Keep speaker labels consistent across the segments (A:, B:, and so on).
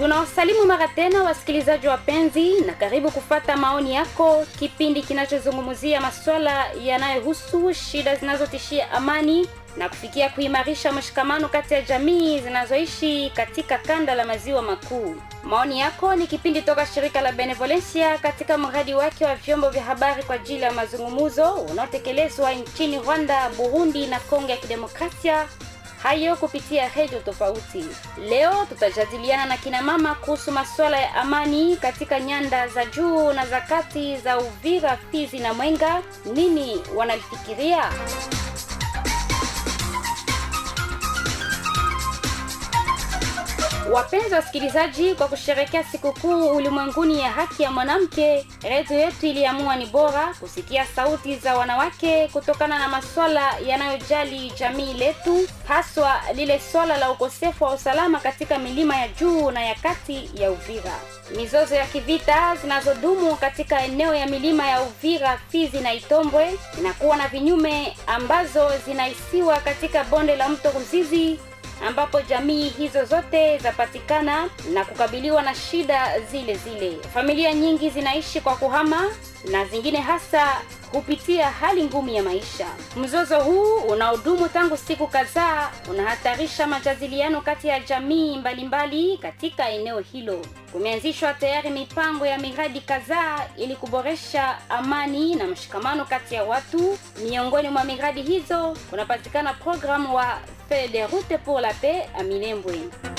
A: Tunawasalimu mara tena wasikilizaji wapenzi na karibu kufata maoni yako, kipindi kinachozungumzia masuala yanayohusu shida zinazotishia amani na kufikia kuimarisha mshikamano kati ya jamii zinazoishi katika kanda la maziwa makuu. Maoni yako ni kipindi toka shirika la Benevolencia katika mradi wake wa vyombo vya habari kwa ajili ya mazungumzo unaotekelezwa nchini Rwanda, Burundi na Kongo ya Kidemokrasia. Hayo kupitia redio tofauti. Leo tutajadiliana na kina mama kuhusu masuala ya amani katika nyanda za juu na za kati za Uvira, Fizi na Mwenga. Nini wanalifikiria? Wapenzi wasikilizaji, kwa kusherehekea sikukuu ulimwenguni ya haki ya mwanamke, redio yetu iliamua ni bora kusikia sauti za wanawake kutokana na masuala yanayojali jamii letu, haswa lile swala la ukosefu wa usalama katika milima ya juu na ya kati ya Uvira. Mizozo ya kivita zinazodumu katika eneo ya milima ya Uvira, Fizi na Itombwe inakuwa na vinyume ambazo zinaisiwa katika bonde la mto Ruzizi, ambapo jamii hizo zote zapatikana na kukabiliwa na shida zile zile. Familia nyingi zinaishi kwa kuhama na zingine hasa kupitia hali ngumu ya maisha. Mzozo huu unaodumu tangu siku kadhaa unahatarisha majadiliano kati ya jamii mbalimbali katika eneo hilo. Kumeanzishwa tayari mipango ya miradi kadhaa ili kuboresha amani na mshikamano kati ya watu. Miongoni mwa miradi hizo kunapatikana programu wa Feuille de route pour la paix à Minembwe.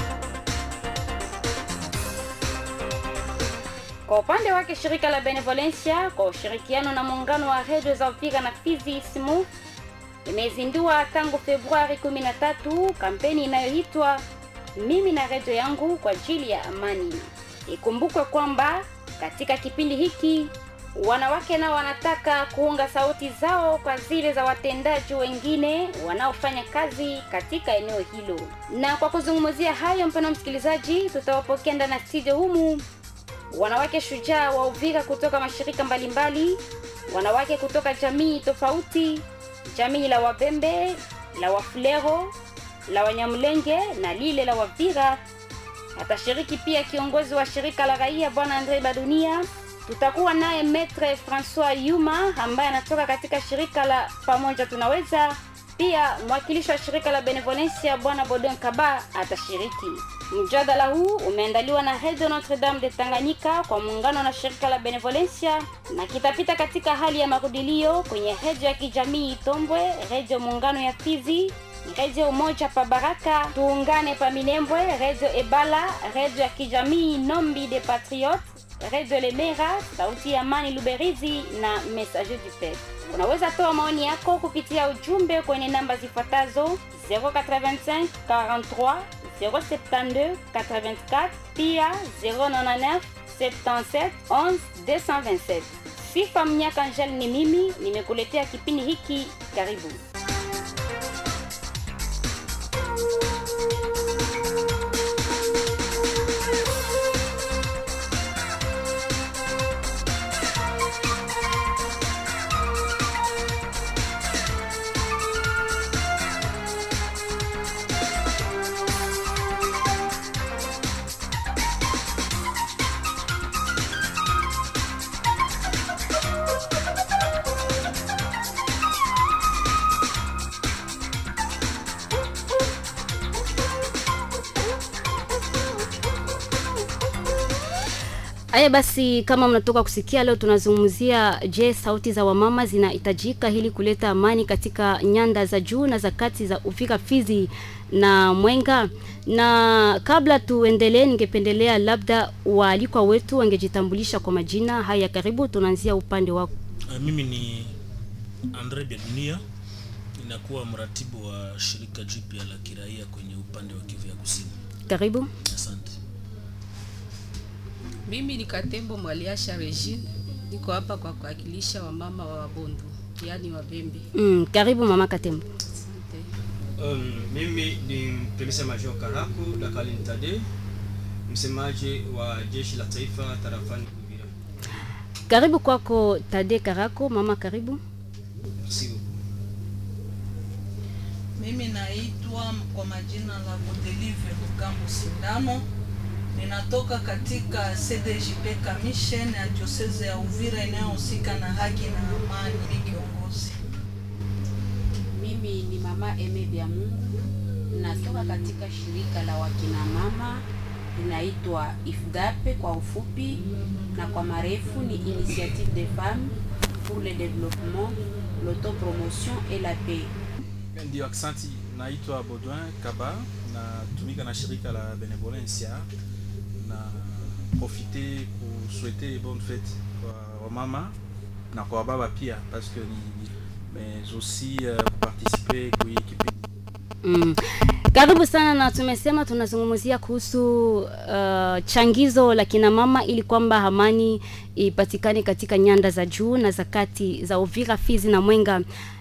A: Kwa upande wake shirika la Benevolencia kwa ushirikiano na muungano wa redio za Uvira na Fizi SMU imezindua tangu Februari 13 kampeni inayoitwa Mimi na redio yangu kwa ajili ya amani. Ikumbukwe kwamba katika kipindi hiki wanawake nao wanataka kuunga sauti zao kwa zile za watendaji wengine wanaofanya kazi katika eneo hilo. Na kwa kuzungumzia hayo, mpendwa msikilizaji, tutawapokea ndani ya studio humu wanawake shujaa wa Uvira kutoka mashirika mbalimbali, wanawake kutoka jamii tofauti, jamii la Wabembe, la Wafulero, la Wanyamulenge na lile la Wavira. Atashiriki pia kiongozi wa shirika la raia Bwana Andre Badunia. Tutakuwa naye Maître François Yuma ambaye anatoka katika shirika la Pamoja Tunaweza. Pia mwakilishi wa shirika la Benevolencia Bwana Bodon Kaba atashiriki. Mjadala huu umeandaliwa na Radio Notre Dame de Tanganyika kwa muungano na shirika la Benevolencia na kitapita katika hali ya marudilio kwenye redio ya kijamii Itombwe, redio muungano ya Fizi, redio Umoja pa Baraka, Tuungane pa Minembwe, redio Ebala, redio ya kijamii Nombi de Patriotes, redio Lemera, sauti ya Amani Luberizi na Messager du Peuple. Unaweza toa maoni yako kupitia ujumbe kwenye namba zifuatazo 085 43 072 84 pia 099 77 11 227. Sifa Mnyaka Angel ni mimi, nimekuletea kipindi hiki. Karibu. Aya basi, kama mnatoka kusikia, leo tunazungumzia je, sauti za wamama zinahitajika ili kuleta amani katika nyanda za juu na za kati za Uvira, Fizi na Mwenga. Na kabla tuendelee, ningependelea labda waalikwa wetu wangejitambulisha kwa majina. Haya, karibu, tunaanzia upande wako.
B: Mimi ni Andre Badunia, ninakuwa mratibu wa shirika jipya la kiraia kwenye upande wa Kivu ya Kusini.
A: Karibu.
B: Asante.
C: Mimi ni Katembo Mwaliasha Regine, niko hapa kwa kuwakilisha wamama wa Wabondo, yani Wabembe.
A: Karibu mama Katembo.
C: Asante.
D: Mimi ni Mtemisa Major Karako Dakali Ntade, msemaji wa jeshi la taifa tarafani Uvira.
A: Karibu kwako Tade Karako, mama karibu.
D: Merci.
E: Mimi naitwa kwa majina la Godelive Lukambo Sindano, Ninatoka katika CDJP Commission ya Diocese ya Uvira inayohusika na haki na amani. Kiongozi.
C: Mimi ni mama Eme Bya Mungu, natoka katika shirika la wakina mama inaitwa IFDAP kwa ufupi, na kwa marefu ni Initiative des Femmes pour le Développement, l'Autopromotion et la Paix.
F: Ndio, aksanti. Naitwa Baudouin Kaba, natumika na shirika la Benevolencia, na profiter kusouhaiter bonne fête kwa mama na kwa baba pia, parce que mais aussi participer kwa kipindi.
A: Karibu sana, na tumesema tunazungumzia kuhusu changizo la kina mama ili kwamba amani ipatikane katika nyanda za juu na za kati za Uvira, Fizi na Mwenga.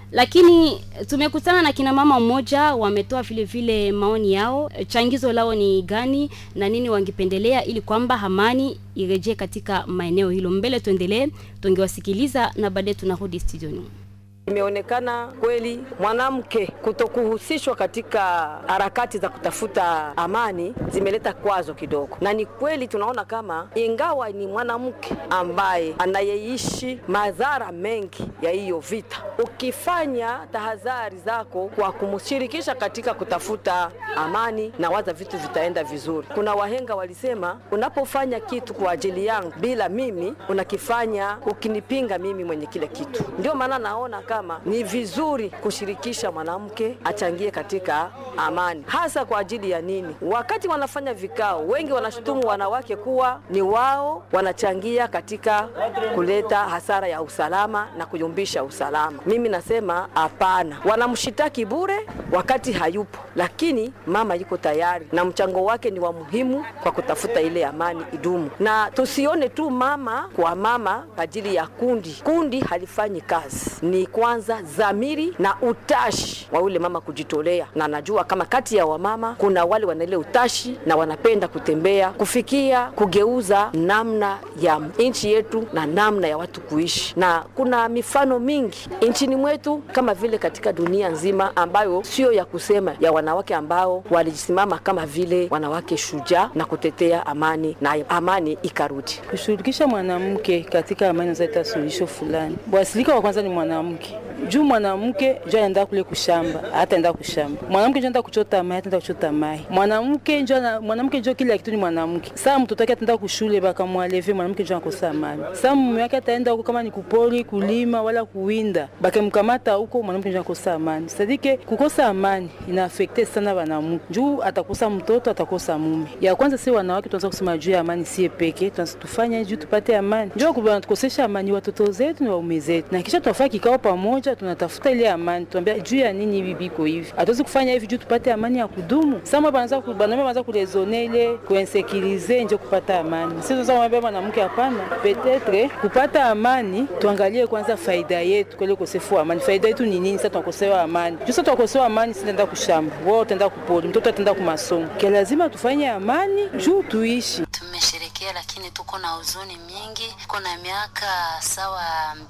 A: Lakini tumekutana na kina mama mmoja, wametoa vile vile maoni yao. Changizo lao ni gani na nini wangependelea ili kwamba amani irejee katika maeneo hilo. Mbele tuendelee, tungewasikiliza na baadaye tunarudi studioni.
G: Imeonekana kweli mwanamke kutokuhusishwa katika harakati za kutafuta amani zimeleta kwazo kidogo, na ni kweli tunaona kama ingawa ni mwanamke ambaye anayeishi madhara mengi ya hiyo vita, ukifanya tahadhari zako kwa kumshirikisha katika kutafuta amani, na waza vitu vitaenda vizuri. Kuna wahenga walisema, unapofanya kitu kwa ajili yangu bila mimi, unakifanya ukinipinga mimi mwenye kile kitu. Ndio maana naona kama ni vizuri kushirikisha mwanamke achangie katika amani. Hasa kwa ajili ya nini? Wakati wanafanya vikao, wengi wanashutumu wanawake kuwa ni wao wanachangia katika kuleta hasara ya usalama na kuyumbisha usalama. Mimi nasema hapana, wanamshitaki bure wakati hayupo, lakini mama yuko tayari na mchango wake ni wa muhimu kwa kutafuta ile amani idumu. Na tusione tu mama kwa mama ajili ya kundi halifanyi kazi. Ni kwanza dhamiri na utashi wa ule mama kujitolea, na najua kama kati ya wamama kuna wale wana ile utashi na wanapenda kutembea kufikia kugeuza namna ya nchi yetu na namna ya watu kuishi. Na kuna mifano mingi nchini mwetu kama vile katika dunia nzima ambayo sio ya kusema, ya wanawake ambao walijisimama kama vile wanawake shujaa na kutetea amani na amani ikarudi.
H: Kushirikisha mwanamke katika amani zaleta suluhisho fulani. Bwasilika wa kwanza ni mwanamke. Juu mwanamke ndio anaenda kule kushamba, hataenda kushamba. Mwanamke ndio anaenda kuchota maji, hataenda kuchota maji. Mwanamke ndio kila kitu ni mwanamke. Sasa mtoto wake ataenda kushule baka mwaleve, mwanamke ndio anakosa amani. Sasa mume wake ataenda huko kama ni kupoli, kulima wala kuwinda, baka mkamata huko, mwanamke ndio anakosa amani. Sadike kukosa amani ina affecte sana wanamke. Juu atakosa mtoto, atakosa mume. Ya kwanza si wanawake tuanza kusema juu ya amani si peke, tuanza tufanye juu tupate amani. Ndio kubana tukosesha amani watoto zetu na waume zetu. Na kisha tufanye kikao pamoja, tunatafuta ile amani. Tuambia juu ya nini hivi biko hivi. Hatuwezi kufanya hivi juu tupate amani ya kudumu. Sasa banaanza kulezone ile kuinsekirize ndio kupata amani. Sisi tunasema mwambie mwanamke hapana. Peut-être kupata amani tuangalie kwanza faida yetu kwa ile ukosefu wa amani. Faida yetu ni nini? Sasa tunakosewa amani. Juu sasa tunakosewa amani, sisi tunaenda kushamba. Wao tutaenda kupoli, mtoto ataenda kwa masomo. Kwa lazima tufanye amani juu tuishi.
I: Tumesherekea lakini tuko na huzuni mingi. Kuna miaka sawa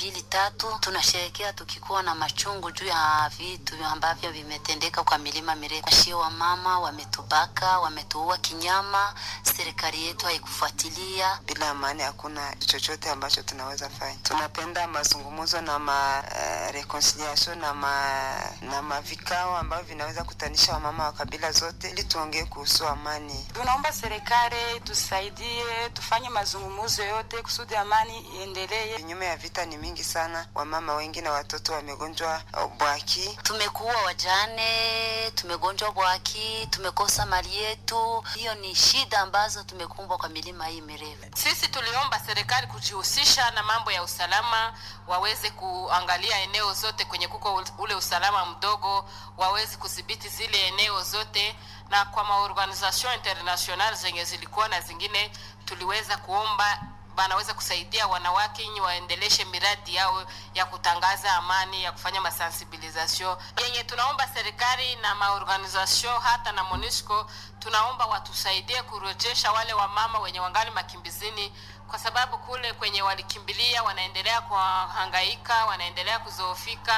I: 2-3 tunasherekea tukikuwa na machungu juu ya vitu ambavyo vimetendeka kwa milima mirefu. Washio wa mama wametubaka, wametuua kinyama, serikali yetu haikufuatilia.
J: Bila amani hakuna chochote ambacho tunaweza fanya. Tunapenda mazungumzo na reconciliation na mavikao ambavyo vinaweza kutanisha wamama wa kabila zote ili tuongee kuhusu amani.
K: Tunaomba serikali tusaidie, tufanye mazungumzo yote kusudi amani iendelee.
J: Vinyume ya vita ni mingi sana. Wamama wengi na watoto wamegonjwa bwaki.
I: Tumekuwa wajane, tumegonjwa bwaki, tumekosa mali yetu. Hiyo ni shida ambazo tumekumbwa kwa milima hii mirefu.
K: Sisi tuliomba serikali kujihusisha na mambo ya usalama, waweze kuangalia eneo zote kwenye kuko ule usalama mdogo, waweze kudhibiti zile eneo zote, na kwa maorganization international zenye zilikuwa na zingine tuliweza kuomba banaweza kusaidia wanawake ili waendeleshe miradi yao ya kutangaza amani, ya kufanya masensibilisation. Yenye tunaomba serikali na maorganization hata na MONUSCO, tunaomba watusaidie kurejesha wale wamama wenye wangali makimbizini, kwa sababu kule kwenye walikimbilia wanaendelea kuhangaika, wanaendelea kuzoofika,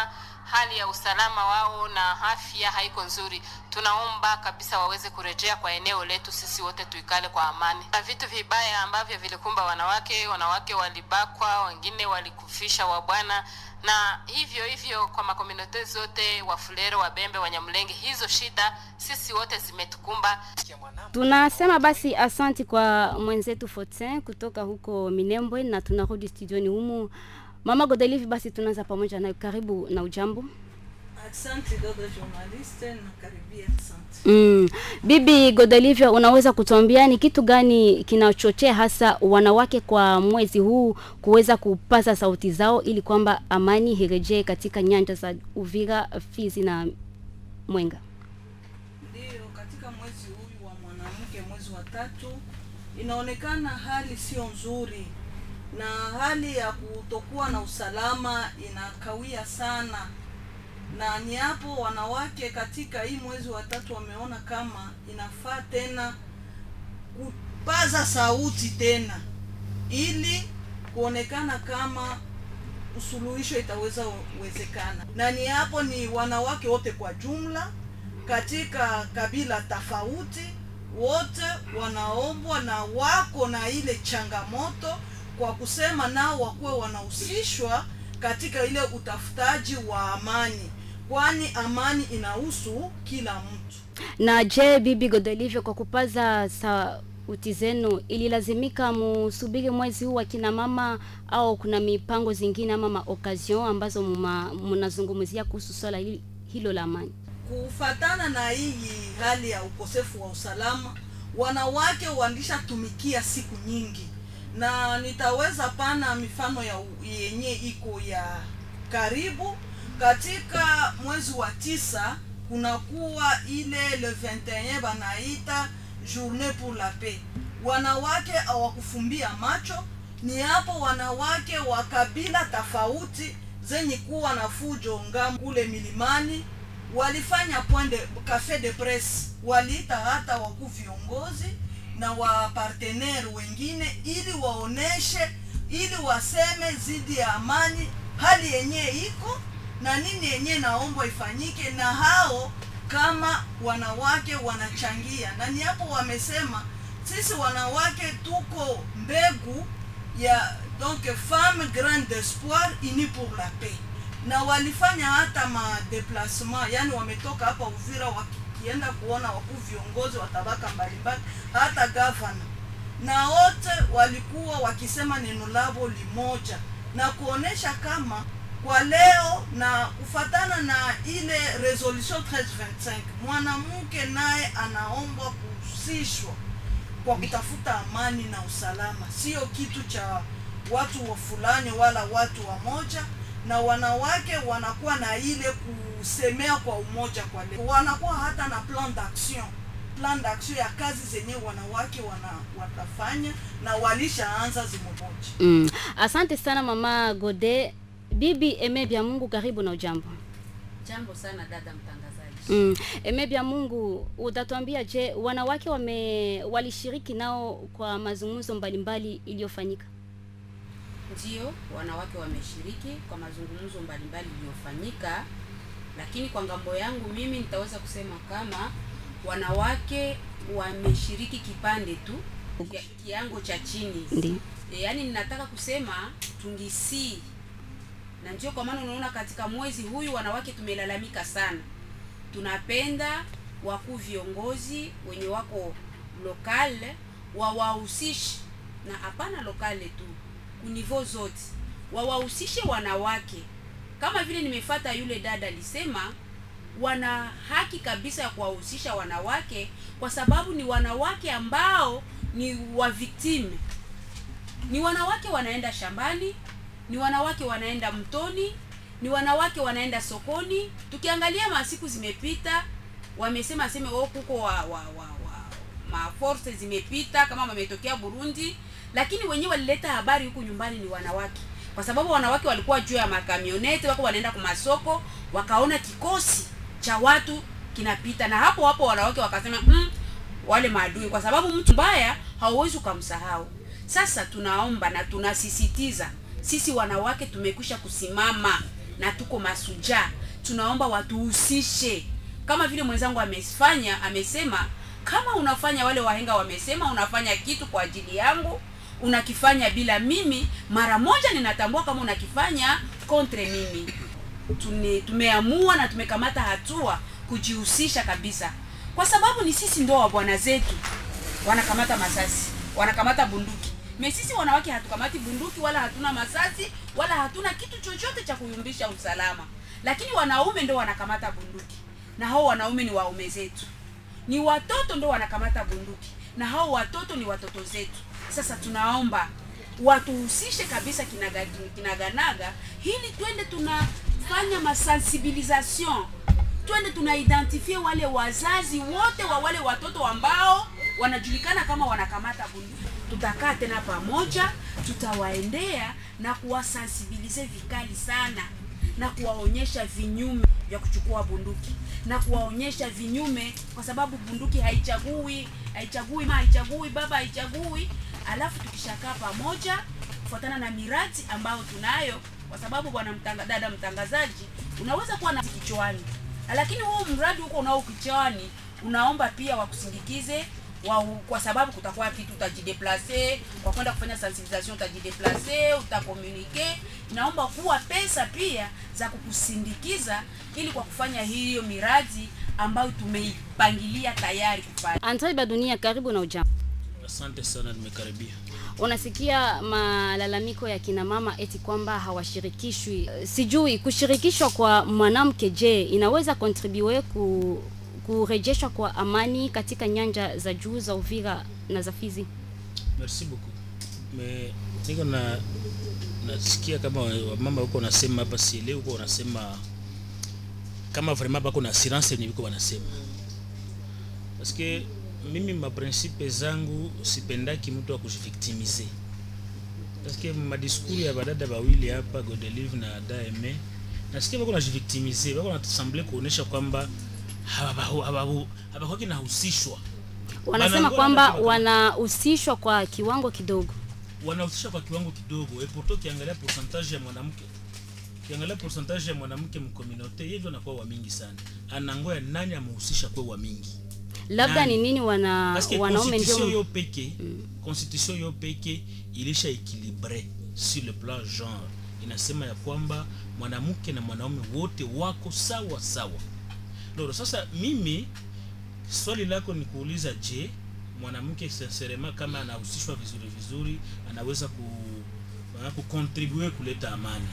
K: hali ya usalama wao na afya haiko nzuri. Tunaomba kabisa waweze kurejea kwa eneo letu, sisi wote tuikale kwa amani. Na vitu vibaya ambavyo vilikumba wanawake walibakwa, wengine walikufisha wabwana, na hivyo kwa makomunote zote, Wafulero, Wabembe, Wanyamulenge, hizo shida sisi wote zimetukumba.
A: Tunasema basi asanti kwa mwenzetu Fortin kutoka huko Minembwe, na tunarudi studioni humu. Mama Godelive, basi tunaanza pamoja nayo. Karibu na ujambo.
E: Asante dada journaliste, na karibia asante.
A: Bibi Godelive, unaweza kutuambia ni kitu gani kinachochea hasa wanawake kwa mwezi huu kuweza kupaza sauti zao ili kwamba amani irejee katika nyanja za Uvira, Fizi na Mwenga?
E: Ndio, katika mwezi huu wa mwanamke, mwezi wa 3, inaonekana hali sio nzuri, na hali ya kutokuwa na usalama inakawia sana, na ni hapo wanawake katika hii mwezi wa 3 wameona kama inafaa tena kupaza sauti tena ili kuonekana kama usuluhisho itaweza uwezekana. Na ni hapo ni wanawake wote kwa jumla katika kabila tofauti, wote wanaombwa na wako na ile changamoto kwa kusema nao wakuwe wanahusishwa katika ile utafutaji wa amani, kwani amani inahusu kila mtu.
A: Na je, Bibi Godelive, kwa kupaza sauti zenu ililazimika musubiri mwezi huu wa kina mama, au kuna mipango zingine ama occasion ambazo mnazungumzia kuhusu swala hilo la amani?
E: Kufatana na hii hali ya ukosefu wa usalama, wanawake walisha siku nyingi, na nitaweza pana mifano ya yenye iko ya karibu. Katika mwezi wa 9 kunakuwa ile le 21 banaita journée pour la paix. Wanawake hawakufumbia macho, ni hapo wanawake wa kabila tofauti zenye kuwa na fujo ngamu kule milimani walifanya café de presse, waliita hata wakuu viongozi na wa partenaire wengine ili waoneshe, ili waseme zidi ya amani hali yenye iko na nini yenye naomba ifanyike, na hao kama wanawake wanachangia. Na ni hapo wamesema sisi wanawake tuko mbegu ya donc femme grande d'espoir unie pour la paix, na walifanya hata ma déplacement, yani wametoka hapa Uvira wakienda kuona wakuu viongozi wa tabaka mbalimbali, hata governor, na wote walikuwa wakisema neno lao limoja na kuonesha kama kwa leo na kufatana na ile resolution 1325 mwanamke naye anaomba kuhusishwa kwa kutafuta amani na usalama, sio kitu cha watu wa fulani wala watu wa moja. Na wanawake wanakuwa na ile kusemea kwa umoja, kwa leo wanakuwa hata na plan d'action ya kazi zenye wanawake watafanya, na walishaanza zimoja.
A: Asante sana Mama Gode. Bibi Eme Bya Mungu, karibu na ujambo.
C: Jambo sana dada mtangazaji.
A: Eme Bya Mungu, utatuambia je, wanawake walishiriki nao kwa mazungumzo mbalimbali iliyofanyika?
C: Ndio, wanawake wameshiriki kwa mazungumzo mbalimbali iliyofanyika, lakini kwa ngambo yangu mimi nitaweza kusema kama wanawake wameshiriki kipande tu kiango cha chini.
A: Ndiyo.
C: Yani ninataka kusema tungisi, na ndio kwa maana unaona katika mwezi huyu wanawake tumelalamika sana. Tunapenda wakuu viongozi wenye wako lokale wawahusishe, na hapana lokale tu, univo zote wawahusishe wanawake. Kama vile nimefuata yule dada alisema, wana haki kabisa ya kuwahusisha wanawake, kwa sababu ni wanawake ambao ni wa victime. Ni wanawake wanaenda shambani, ni wanawake wanaenda mtoni, ni wanawake wanaenda sokoni. Tukiangalia masiku zimepita, wamesema kuko ma force zimepita kama wametokea Burundi, lakini wenyewe walileta habari huku nyumbani ni wanawake, kwa sababu wanawake walikuwa juu ya makamioneti, wako wanaenda kwa masoko, wakaona kikosi cha watu kinapita, na hapo wanawake wakasema wale maadui, kwa sababu mtu mbaya hauwezi kumsahau. Sasa tunaomba na tunasisitiza, sisi wanawake tumekwisha kusimama na tuko masuja. tunaomba watuhusishe kama vile mwenzangu amesema, kama unafanya, wale wahenga wamesema, unafanya kitu kwa ajili yangu, unakifanya bila mimi, mara moja ninatambua kama unakifanya kontre mimi. Tumeamua na tumekamata hatua kujihusisha kabisa, kwa sababu ni sisi ndo wa bwana zetu wanakamata masasi, wanakamata bunduki. Sisi wanawake hatukamati bunduki, wala hatuna masasi, wala hatuna kitu chochote cha kuyumbisha usalama, lakini wanaume ndo wanakamata bunduki, na hao wanaume ni waume zetu. Ni watoto ndo wanakamata bunduki, na hao watoto ni watoto zetu. Sasa tunaomba watuhusishe kabisa kinaganaga, ili twende tunafanya masensibilisation, twende tunaidentifie wale wazazi wote wa wale watoto ambao wanajulikana kama wanakamata bunduki. Tutakaa tena pamoja, tutawaendea na kuwasensibilize vikali sana, na kuwaonyesha vinyume vya kuchukua bunduki, na kuwaonyesha vinyume, kwa sababu bunduki haichagui baba, haichagui. Alafu tukishakaa pamoja kufuatana na miradi ambayo tunayo, kwa sababu bwana dada mtangazaji, unaweza kuwa na kichwani, lakini huo mradi huko unao kichwani, unaomba pia wakusindikize kwa sababu kutakuwa kitu utajideplacer, kwa kwenda kufanya sensibilisation utajideplacer, utakomunike. Naomba kuwa pesa pia za kukusindikiza, ili kwa kufanya hiyo miradi ambayo tumeipangilia tayari kufanya.
A: Andre Badunia, karibu na ujambo.
B: Asante sana, nimekaribia.
A: Unasikia malalamiko ya kina mama eti kwamba hawashirikishwi. Sijui kushirikishwa kwa mwanamke, je, inaweza contribute kurejeshwa kwa amani katika nyanja za juu za Uvira na za Fizi?
B: Merci beaucoup. Niko nasikia kama mama huko nasema hapa, si leo huko wanasema kama vraiment bako na assurance ni biko wanasema. Parce que mimi ma principe zangu sipendaki mtu wa kujivictimiser. Parce que ma discours ya badada bawili hapa Godelive na Daeme, nasikia bako na jivictimiser, bako na semble kuonesha kwamba habakwaki nahusishwa.
A: Wanasema kwamba wanahusishwa kwa kiwango kidogo.
B: Wanahusishwa kwa kiwango kidogo. Epoto kiangalia pourcentage ya mwanamke. Kiangalia pourcentage ya mwanamke mcommunauté, yeye ndio anakuwa wa mingi sana. Anangoya nani amehusisha kwa wa mingi.
A: Labda ni nini wanaume ndio
B: constitution yo peke ilisha équilibré sur le plan genre. Inasema ya kwamba mwanamke na mwanaume wote wako sawa sawa. Ndio sasa mimi swali lako ni kuuliza, je, mwanamke sincerement kama anahusishwa vizuri anaweza contribuer kuleta amani?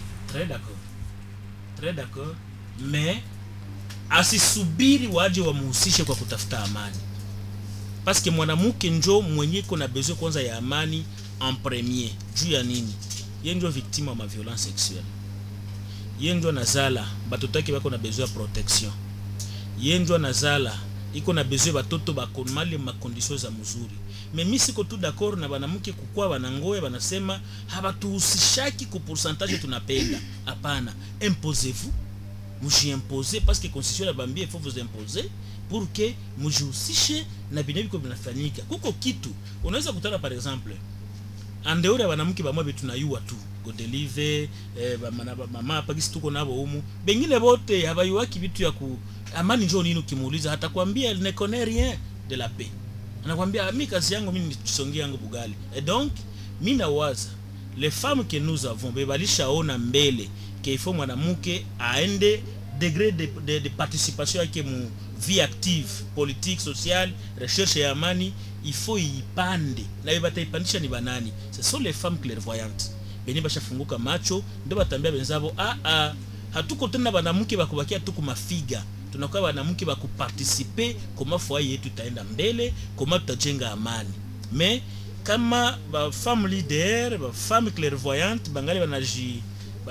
B: Très d'accord, mais asisubiri waje wamuhusishe kwa kutafuta amani, parce que mwanamke njo mwenye kuna besoin kwanza ya amani en premier. Juu ya nini? Yeye ndio victime wa violence sexuelle, yeye ndio nazala batotaki bako na besoin ya protection, yeye ndio nazala iko na besoin batoto bakomale ma conditions za mzuri. Mimi siko tu d'accord na banamke kukua banangoe banasema habatuhusishaki ku pourcentage tunapenda. Hapana, imposez-vous, mujimposez, parce que constitution la bambie il faut vous imposer pour que mujihusishe na binebiko binafanyika. Kuko kitu unaweza kutana, par exemple andeura banamke bamwe betunayua tu Godelive mama hapa kisi tuko nabo humu, bengine bote habayuaki vitu ya ku amani. Njoo nini ukimuuliza hata kwambia ne connaît rien de la paix, anakuambia mimi kazi yangu mimi nisongia yangu bugali. Et donc mimi nawaza les femmes que nous avons bebalishaona mbele que il faut mwanamke aende degré de participation yake mu vie active politique sociale recherche ya amani, il faut ipande na bataipandisha ni banani? Ce sont les femmes clairvoyantes beni bashafunguka macho, ndio batambia benzabo hatuko tena banamke bakubakia tu kumafiga, tunakuwa banamke bakuparticiper kama foyer yetu itaenda mbele, kama tutajenga amani. Mais kama ba femme leader, ba femme clairvoyante bangali banaji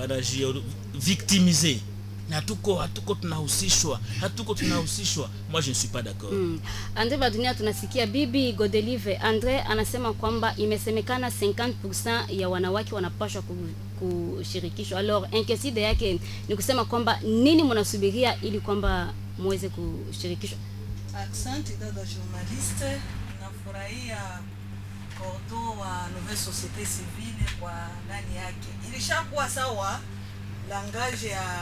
B: victimiser, hatuko tunahusishwa, moi je ne suis pas d'accord.
A: Andre Badunia, tunasikia bibi Godelive Andre anasema kwamba imesemekana 50% ya wanawake wanapaswa kushirikishwa. Alors inquiétude yake ni kusema kwamba nini mnasubiria ili kwamba muweze kushirikishwa?
E: Asante dada journaliste, nafurahia kordo wa Nouvelle Société Civile kwa ndani yake. Ilishakuwa sawa langage ya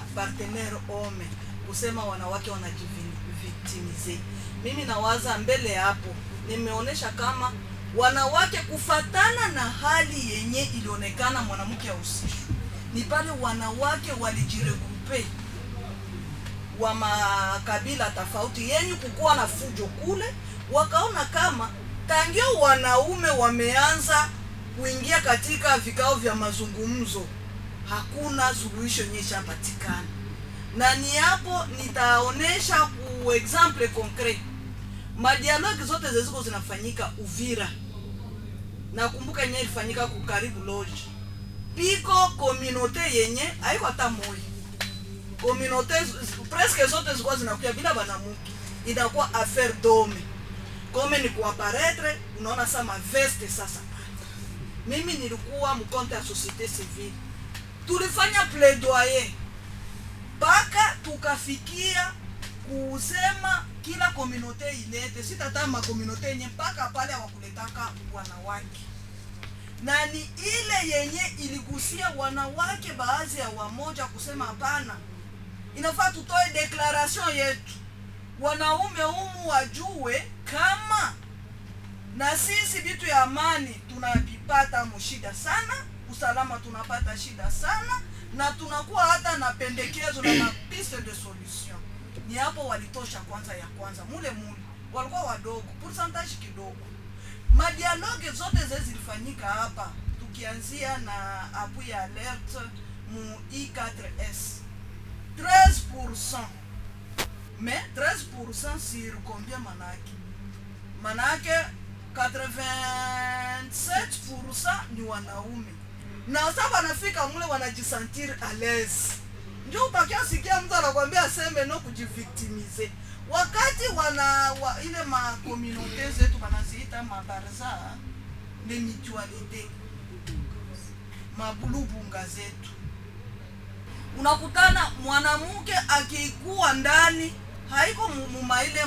E: partenaire ome kusema wanawake wanajivictimize. Mimi nawaza mbele hapo nimeonesha kama wanawake kufatana na hali yenye ilionekana mwanamke ahusishwe ni pale wanawake walijiregrupe wa makabila tofauti yenye kukuwa na fujo kule, wakaona kama tangio wanaume wameanza kuingia katika vikao vya mazungumzo hakuna suluhisho yenye ishapatikana. Na ni hapo nitaonesha ku example concret madialogue zote zilizo zinafanyika Uvira. Nakumbuka yenye ilifanyika ku Karibu Lodge. Piko communauté yenye haiko hata moja. Communauté presque zote zilikuwa zinakuja bila banamuke. Inakuwa affaire d'homme. Kome ni kuapparaître, unaona sama veste sasa. Mimi nilikuwa mkonte ya société civile. Tulifanya plaidoyer mpaka tukafikia kusema kila communauté ilete, sitata ma communauté yenye mpaka pale hawakuletaka wanawake. Na ni ile yenye iligusia wanawake baadhi ya wamoja kusema hapana, inafaa tutoe declaration yetu. Wanaume humu wajue kama na sisi vitu ya amani tunavipata mshida sana, usalama tunapata shida sana, na tunakuwa hata na pendekezo na mapiste de solution. Ni hapo walitosha kwanza ya kwanza mule walikuwa wadogo, pourcentage kidogo. Madialogue zote zilifanyika hapa tukianzia na appui ya alerte mu I4S 13%. Mais 13% sur combien manake? Manake 87% ni wanaume. Na sasa wanafika mule wanajisentir à l'aise. Ndio utakia sikia mtu anakuambia aseme no kujivictimize. Wakati ile ma communauté zetu wanaziita mabarza de mutualité. Mabulubunga zetu. Unakutana mwanamke akikuwa ndani haiko mumaile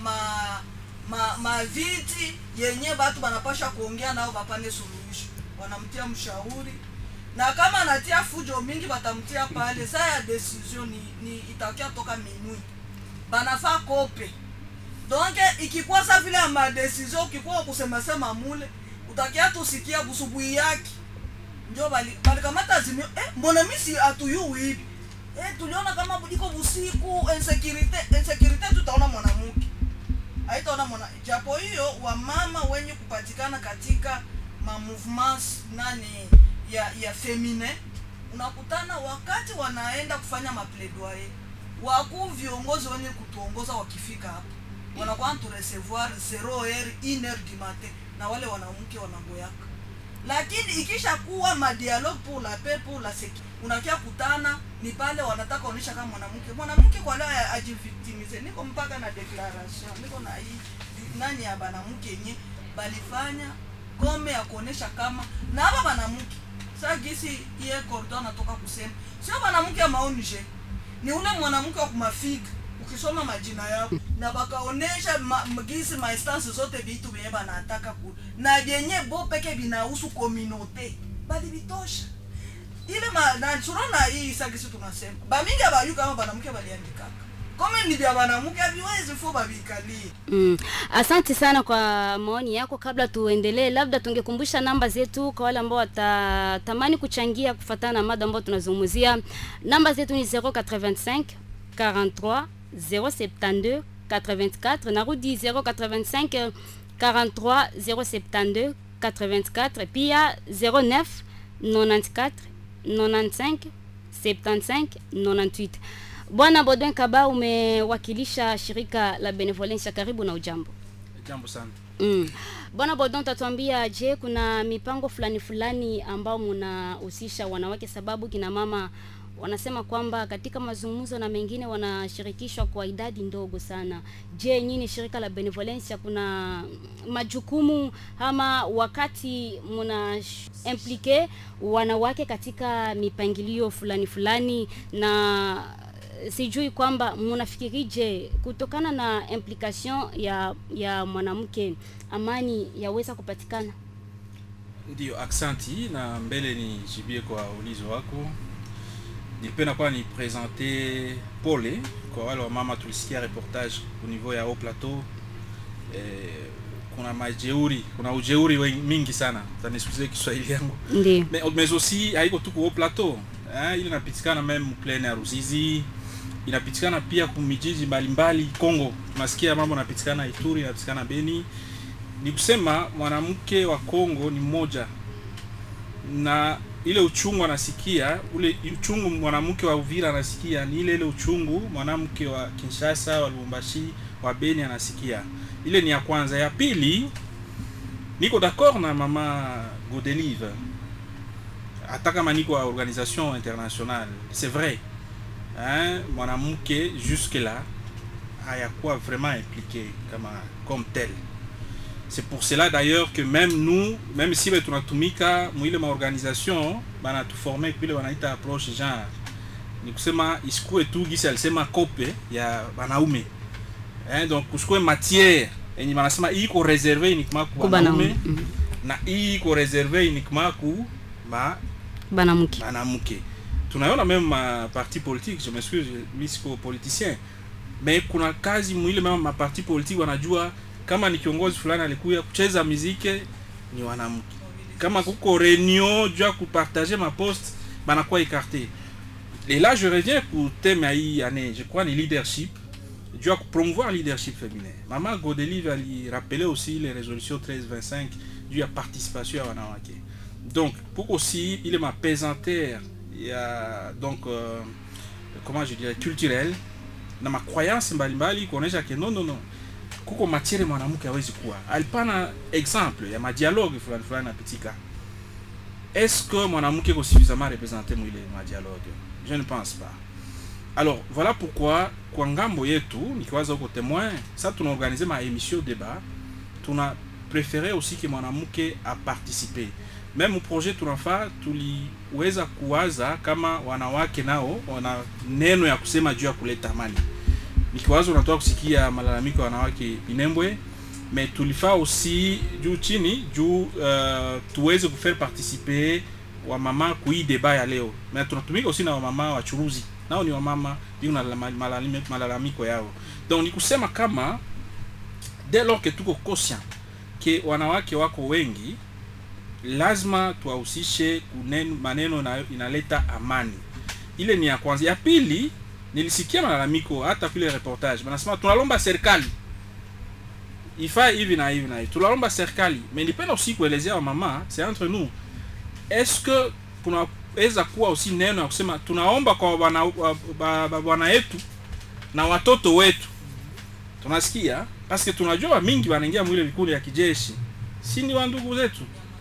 E: viti yenye watu wanapasha kuongea nao wapane suluhisho. Wanamtia mshauri. Na kama anatia fujo mingi batamtia pale, saa ya decision ni itakia toka minui. Banafaa kope. Donc ikikuwa sa vile ma decision ukikuwa kusema mule, utakia tusikia busubuhi yake. Ndio bali kamata zimio, mbona misi atuyu hivi? Tuliona kama buliko busiku, insecurity tutaona mwanamke. Haitaona japo hiyo wa mama wenye kupatikana katika ma movements ya femine, unakutana wakati wanaenda kufanya maplaidoyer, wakuu viongozi wenye kutuongoza wakifika hapo wanakuwa tu recevoir 0h 1h du matin na wale wanawake wanangoyaka. Lakini ikisha kuwa ma dialogue pour la paix pour la sécurité, unakia kutana ni pale wanataka kuonesha kama mwanamke kwa leo ajivictimize. Niko mpaka na declaration, niko na hii nani ya banamke yenye balifanya gome ya kuonesha kama na hapa banamke sasa gisi iye cordon natoka kusema sio banamke ya maonje, ni ule mwanamke wa kumafiga. Ukisoma majina yao na bakaonesha gisi ma instance zote vitu vyenye banataka ku na yenye bo peke binahusu communauté bali bitosha ile na surona hii sasa gisi tunasema ba mingi abayu kama banamke baliandika kama ni vya wanamke haviwezi fuba vikali.
A: Asante sana kwa maoni yako. Kabla tuendelee, labda tungekumbusha namba zetu kwa wale ambao watatamani kuchangia kufuatana na mada ambayo tunazungumzia. Namba zetu ni 085 43 072 84, narudi 085 43 072 84, pia 09 94 95 75 98. Bwana Baudouin Kaba, umewakilisha shirika la Benevolencia, karibu na ujambo.
F: Jambo sana.
A: Bwana Baudouin, tatuambia je, kuna mipango fulani ambao mnahusisha wanawake, sababu kina mama wanasema kwamba katika mazungumzo na mengine wanashirikishwa kwa idadi ndogo sana. Je, nyinyi shirika la Benevolencia kuna majukumu ama wakati mna implike wanawake katika mipangilio fulani, na sijui kwamba mnafikirije kutokana na implication ya mwanamke amani yaweza kupatikana?
F: Ndio, aksanti, na mbele ni jibie kwa ulizo wako. nilipenda kwa ni présenter pole kwa wale wa mama tulisikia reportage au niveau ya Haut Plateau. Kuna ujeuri mingi sana. Tanisikize Kiswahili yangu.
A: Ndiyo.
F: Mais aussi haiko tu Haut Plateau. Ile inapitikana même plaine ya Ruzizi. Inapitikana pia kumijiji mbalimbali Kongo. Tunasikia mambo yanapitikana Ituri, yanapitikana Beni. Ni kusema mwanamke wa Kongo ni mmoja. Na ile uchungu anasikia, ule uchungu mwanamke wa Uvira anasikia ni ile uchungu mwanamke wa Kinshasa, wa Lubumbashi, wa Beni anasikia. Ile ni ya kwanza. Ya pili, niko d'accord na mama Godelive. Hata kama niko wa organisation internationale, c'est vrai. Mwanamke jusque là hayakuwa vraiment impliqué comme tel. C'est pour cela d'ailleurs que même nous, même si tunatumika mwile ma organisation bana tu former kule wanaita approche genre ni kusema isikue tu gisi alisema kope ya wanaume. Donc kusikue matière yenye wanasema iko reservé uniquement kwa wanaume na iko reservé uniquement kwa banamke. Tunaona même ma parti politique, je m'excuse, mimi siko politicien, mais kuna kazi mwile même ma parti politique wanajua kama ni kiongozi fulani alikuya kucheza muziki ni wanamke. Kama kuko réunion jua kupartager ma poste banakuwa écarté. Et là je reviens pour thème hii année, je crois ni leadership, jua promouvoir leadership féminin. Maman Godelive ali rappeler aussi les résolutions 1325 du ya participation ya wanawake. Donc pour aussi il est ma pesanteur ya donc comment je dirais culturel na ma croyance mbalimbali kuonesha que non kuko matiere mwanamke hawezi kuwa. Alipana exemple ya ma dialogue fulani napitika. Est-ce que mwanamke est suffisamment représenté mwile ma dialogue? Je ne pense pas. Alors voilà pourquoi kwa ngambo yetu nikiwaza huko témoin, ça tuna organiser ma émission débat, tuna préféré aussi que mwanamke a participer. Même projet tunafaa tuliweza kuwaza kama wanawake nao wana neno ya kusema juu ya kuleta amani. Nikiwaza unatoa kusikia malalamiko ya wanawake Minembwe, mais tulifaa aussi juu chini juu tuweze kufaire participer wa mama kui débat ya leo. Mais tunatumika aussi na wa mama wa churuzi. Nao ni wa mama ndio na malalamiko yao. Donc ni kusema kama dès lors que tuko conscient que wanawake wako wengi, lazima tuwahusishe maneno na inaleta amani. Ile ni ya kwanza. Ya pili, nilisikia malalamiko hata kule reportage. Wanasema tunalomba serikali ifaa hivi na hivi na hivi. Tunalomba serikali. Mais nilipenda aussi kuelezea wa mama, c'est entre nous. Est-ce que tunaweza kuwa aussi neno ya kusema tunaomba kwa bwana yetu na watoto wetu. Tunasikia parce que tunajua mingi wanaingia mwile vikundi ya kijeshi. Si ni wa ndugu zetu.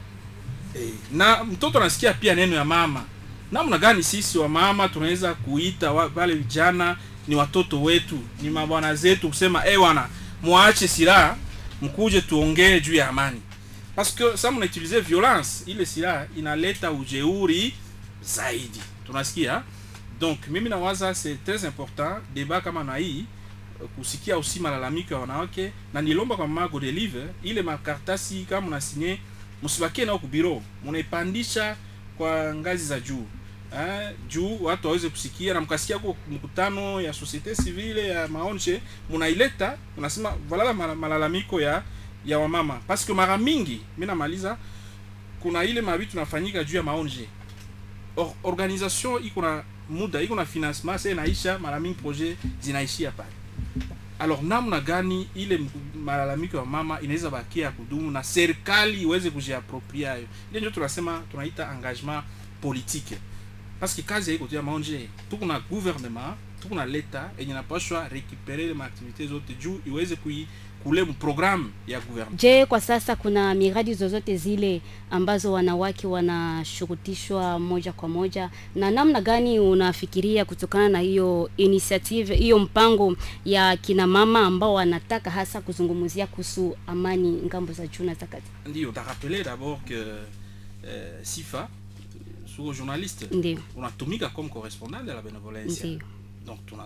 F: Na mtoto anasikia pia neno ya mama. Namna gani sisi wa mama tunaweza kuita wale vijana ni watoto wetu, ni mabwana zetu kusema wana muache silaha mkuje tuongee juu ya amani. Parce que ça mna utiliser violence, ile silaha inaleta ujeuri zaidi. Tunasikia? Donc mimi nawaza c'est très important débat kama na hii kusikia aussi malalamiko ya wanawake na nilomba kwa mama Godelive ile makartasi kama mna signer msibakie nao ku bureau, mnaipandisha kwa ngazi za juu. Juu watu waweze kusikia na mkasikia kwa mkutano ya société civile ya maonje mnaileta, unasema voilà malalamiko ya wamama. Parce que mara mingi mimi namaliza kuna ile mabitu tunafanyika juu ya maonje. Organisation iko na muda, iko na financement, c'est naisha mara mingi projet zinaishia pale. Alors namna gani ile malalamiko ya mama inaweza bakia kudumu na serikali iweze kujiapproprier. Ile ndio tunasema tunaita engagement politique. Parce que kazi haiko tu ya maonje, tuko na gouvernement, tuko na leta yenye napashwa récupérer les activités zote juu iweze kule programme ya gouvernement.
A: Je, kwa sasa kuna miradi zozote zile ambazo wanawake wanashurutishwa moja kwa moja, na namna gani unafikiria kutokana na hiyo initiative, hiyo mpango ya kina mama ambao wanataka hasa kuzungumzia kuhusu amani ngambo za juu na za kati?
F: Ndio, ta rappeler d'abord que Sifa sous journaliste,
A: Ndiyo.
F: unatumika comme correspondant de la bénévolence.
A: Ndiyo.
F: Donc tunafaa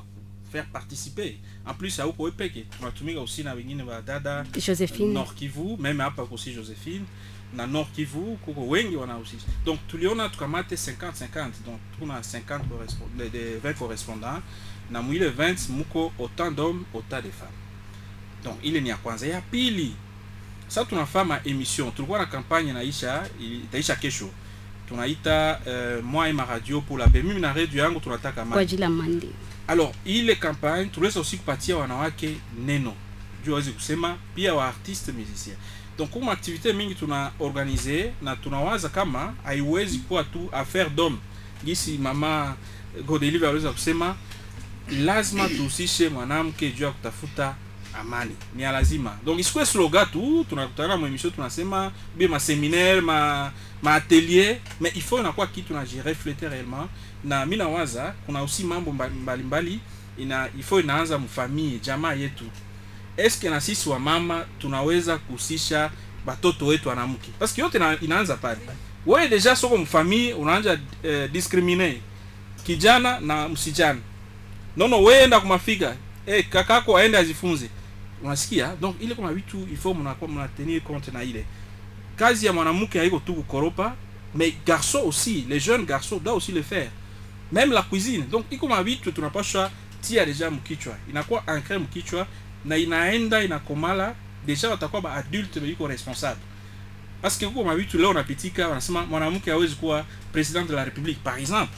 F: faire participer. En plus hauko wepeke tunatumika aussi na wengine wa dada
A: Josephine
F: Nord Kivu, même hapa aussi Josephine na Nord Kivu kuko wengi wanahusisha. Donc tuliona tukamate 50-50, donc tuna 50 de 20 correspondants na mwile 20 muko autant d'hommes autant de femmes. Donc ile ni ya kwanza. Ya pili, sasa tunafanya emission, tulikuwa na kampanye itaisha kesho, tunaita moi et ma radio pour la paix. Mimi na radio yangu tunataka
A: kwa ajili ya mandi.
F: Alors ile campagne tuliweza aussi kupatia wanawake neno juu waweze kusema, pia wa artiste musicien. Donc comme activité mingi tuna organiser na tunawaza kama haiwezi kuwa tu affaire d'homme. Gisi mama Godelive aliweza kusema lazima tuhusishe mwanamke juu ya kutafuta amani. Ni lazima. Donc isikuwe slogan tu tunakutana na emission tunasema bien ma séminaire ma atelier, mais il faut inakuwa kitu na refléter réellement. Na mimi nawaza kuna aussi mambo mbalimbali il faut inaanza mfamii jamaa yetu. Eske na sisi wa mama tunaweza kuhusisha batoto wetu wanamke? Parce que yote inaanza pale. Wewe deja soko mfamii unaanza discriminer kijana na msijana. Nono wewe enda kumafiga, kakako aende azifunze. Unasikia? Donc ile kama vitu il faut mna tenir compte na ile. Kazi ya mwanamke haiko tu kukoropa, mais garçon aussi, les jeunes garçons doivent aussi le faire. Même la cuisine. Donc iko mavitu tunapaswa tia deja mkichwa. Inakuwa ancré mkichwa na inaenda inakomala deja watakuwa ba adulte biko responsable. Parce que kuko mavitu leo unapitika wanasema mwanamke hawezi kuwa président de la République par exemple.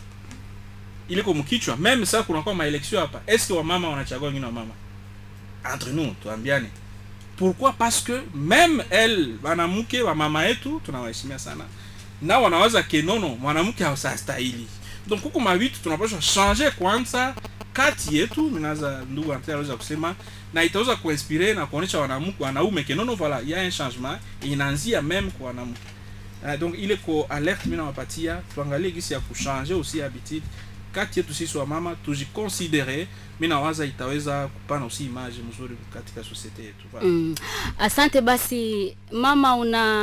F: Ile kwa mkichwa, même ça kunakuwa ma élection hapa. Est-ce que wa mama wanachagua wengine wa mama? Entre nous, tuambiane. Pourquoi? Parce que même elle mwanamke wa mama yetu tunawaheshimia sana. Na wanawaza ke nono mwanamke hastahili. Donc kuko mavitu tunapaswa changer kwanza kati yetu, minaza ndugu Antea anaweza kusema, na itaweza kuinspirer na kuonesha wanaume ke nono voilà, il y a un changement inaanzia même kwa wanamke. Donc ile ko alerte mimi nawapatia tuangalie gisi ya kuchanger aussi habitude kati yetu sisi wa mama, tujiconsidere. Mimi nawaza itaweza kupana aussi image mzuri katika societe yetu.
A: Asante basi mama,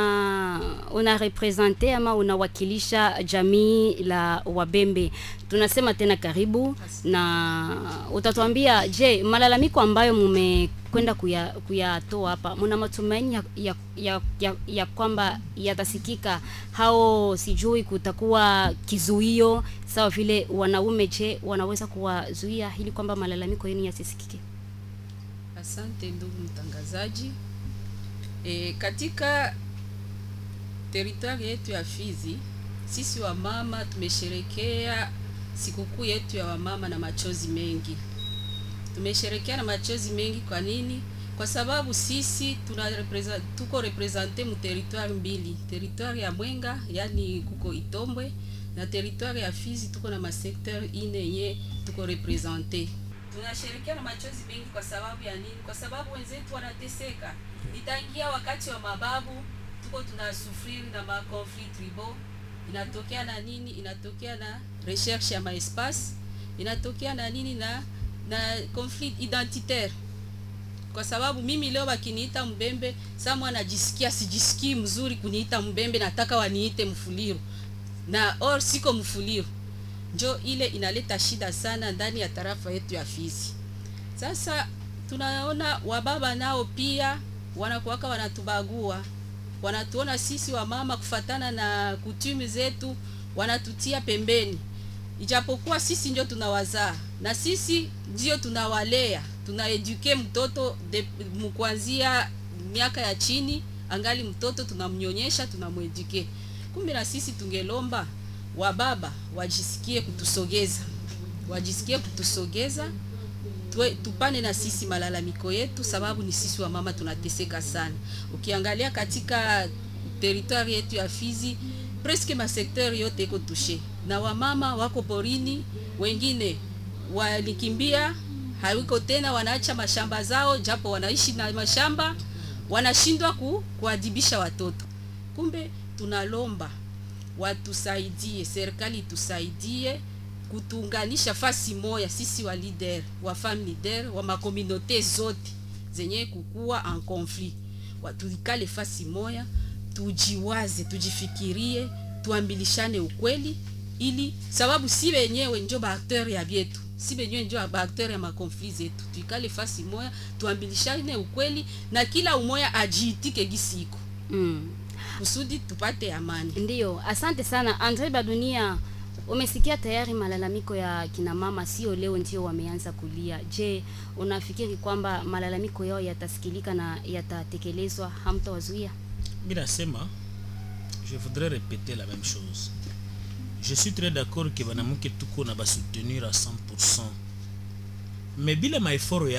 A: una representer ama unawakilisha jamii la Wabembe. Tunasema tena karibu na utatuambia, je, malalamiko ambayo mmekwenda kuyatoa hapa mna matumaini ya kwamba yatasikika, hao sijui kutakuwa kizuio sawa vile wanaume, je wanaweza kuwazuia ili kwamba malalamiko yenu yasisikike?
C: Asante ndugu mtangazaji. Katika territoire yetu ya Fizi, sisi wa mama tumesherekea sikukuu yetu ya wamama na machozi mengi. Tumesherekea na machozi mengi kwa nini? Kwa sababu sisi tuko represente mu territoire mbili. Territoire ya Mwenga, yani kuko Itombwe, na territoire ya Fizi tuko na masecteur ine yenye tuko represente. Tunasherekea na machozi mengi kwa sababu ya nini? Kwa sababu wenzetu wanateseka. Nitangia wakati wa mababu tuko tunasufiri na ma conflit tribal. Inatokea na nini? Inatokea na recherche ya espace, inatokea na nini? Na conflit identitaire. Kwa sababu mimi leo wakiniita Mbembe, samwa najisikia sijisikii mzuri kuniita Mbembe, nataka waniite Mfuliru. Na or siko Mfuliru. Njo ile inaleta shida sana ndani ya tarafa yetu ya Fizi. Sasa tunaona wababa nao pia wanakuwaka wanatubagua. Wanatuona sisi wa mama kufatana na kutumi zetu, wanatutia pembeni. Ijapokuwa sisi ndio tunawazaa na sisi ndio tunawalea, tunaeduke mtoto kuanzia miaka ya chini, angali mtoto tunamnyonyesha, tunamueduke. Kumbe na sisi tungelomba wababa wajisikie kutusogeza. Wajisikie kutusogeza, tupane na sisi malalamiko yetu, sababu ni sisi wa mama tunateseka sana. Ukiangalia katika territoire yetu ya Fizi, presque ma secteur yote iko touché. Na wamama wako porini, wengine walikimbia, hawiko tena, wanaacha mashamba zao, japo wanaishi na mashamba, wanashindwa kuadibisha watoto. Kumbe tunalomba watusaidie, serikali tusaidie kutuunganisha fasi moya sisi wa leader, wa femme leader, wa makominote zote zenye kukua en conflit. Watulikale fasi moya, tujiwaze, tujifikirie, tuambilishane ukweli, ili sababu si wenyewe njo ba acteur ya vyetu, si wenyewe njo ba acteur ya makonflit zetu. Tuikale fasi moya, tuambilishane ukweli na kila umoya ajiitike gisiko kusudi tupate amani.
A: Ndiyo, asante sana Andre Badunia. Umesikia tayari malalamiko ya kina mama, sio leo ndio wameanza kulia. Je, unafikiri kwamba malalamiko yao yatasikilika na yatatekelezwa, hamtawazuia?
B: Mimi nasema, je voudrais répéter la même chose. Je suis très d'accord que banamuke tuko na basoutenir à 100%. Mais bila maeforo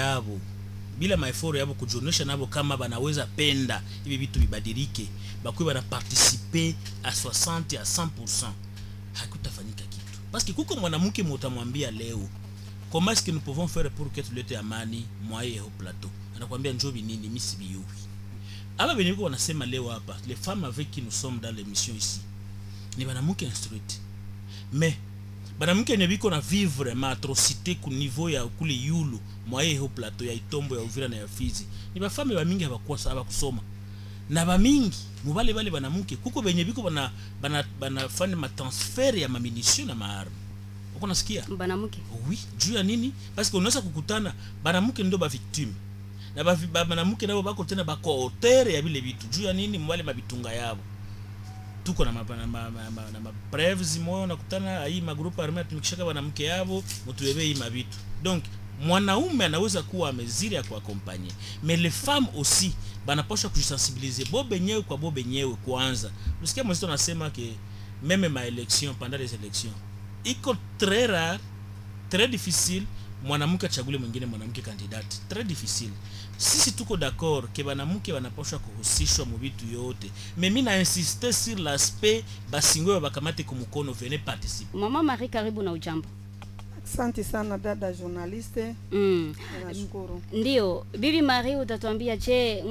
B: yabo kujonesha nabo kama banaweza penda hivi vitu bibadilike, bakwe bana participer à 60 à 100%, hakutafanyika kitu. Parce que kuko mwanamke mtamwambia leo, comment est-ce que nous pouvons faire pour que tulete amani mwaye au plateau? Anakuambia njobi nini, mimi sibiyui. Aba beniko wanasema leo hapa, les femmes avec qui nous sommes dans l'émission ici, ni banamuke instruite. Mais banamuke nebiko na vivre ma atrocité ku niveau ya kule yulu mwaye au plateau ya Itombo ya Uvira na ya Fizi. Ni ba femme ba mingi abakuwa kusoma. Na ba mingi mubale bale banamuke kuko benye biko bana fanya ma transfer ya munitions na maarme. Uko nasikia?
A: Banamuke.
B: Oui, juu ya nini? Parce que unaweza kukutana banamuke ndo ba victime. Na banamuke nabo bako tena bako auteur ya bile bitu. Juu ya nini? Mwale mabitunga yabo. Tuko na ma preuves moyo nakutana hii magrupu armé tumikishaka banamuke yabo mutubebe hii mabitu. Donc mwanaume anaweza kuwa ameziri ya kuakompanye, mais les femmes aussi banaposha kujisensibiliser bobe nyewe kwa bobe nyewe kwanza. Usikia mwenzetu anasema ke meme ma élection pendant les élections iko très rare, très difficile mwanamke achagule mwingine mwanamke kandidati, très difficile. Sisi tuko d'accord ke banamuke banaposha kuhusishwa mu vitu yote, mais mimi na insister sur l'aspect basingwe bakamate kumukono, venez participer.
A: Mama Marie, karibu na ujambo.
E: Asante sana dada journaliste. Nashukuru.
A: Ndio, Bibi Marie, utatuambia je,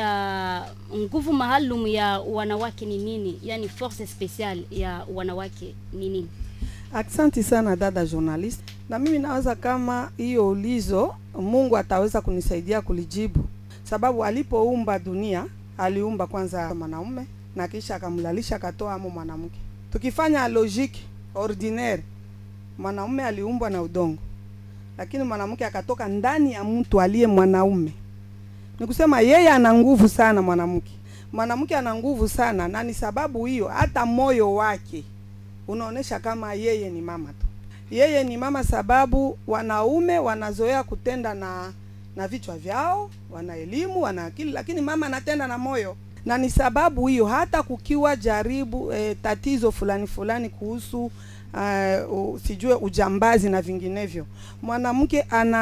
A: nguvu maalum ya wanawake ni nini? Yani force special ya wanawake ni nini?
E: Asante sana dada journaliste. Na mimi nawaza kama hiyo ulizo Mungu ataweza kunisaidia kulijibu. Sababu alipoumba dunia, aliumba kwanza mwanaume na kisha akamlalisha akatoa amo mwanamke. Tukifanya logique ordinaire, mwanaume aliumbwa na udongo, lakini mwanamke akatoka ndani ya mtu aliye mwanaume. Nikusema yeye ana nguvu sana mwanamke. Mwanamke ana nguvu sana, na ni sababu hiyo hata moyo wake unaonesha kama yeye ni mama tu. Yeye ni mama sababu wanaume wanazoea kutenda na vichwa vyao, wana elimu, wana akili, lakini mama anatenda na moyo. Na ni sababu hiyo hata kukiwa jaribu tatizo fulani kuhusu sijue ujambazi na vinginevyo, mwanamke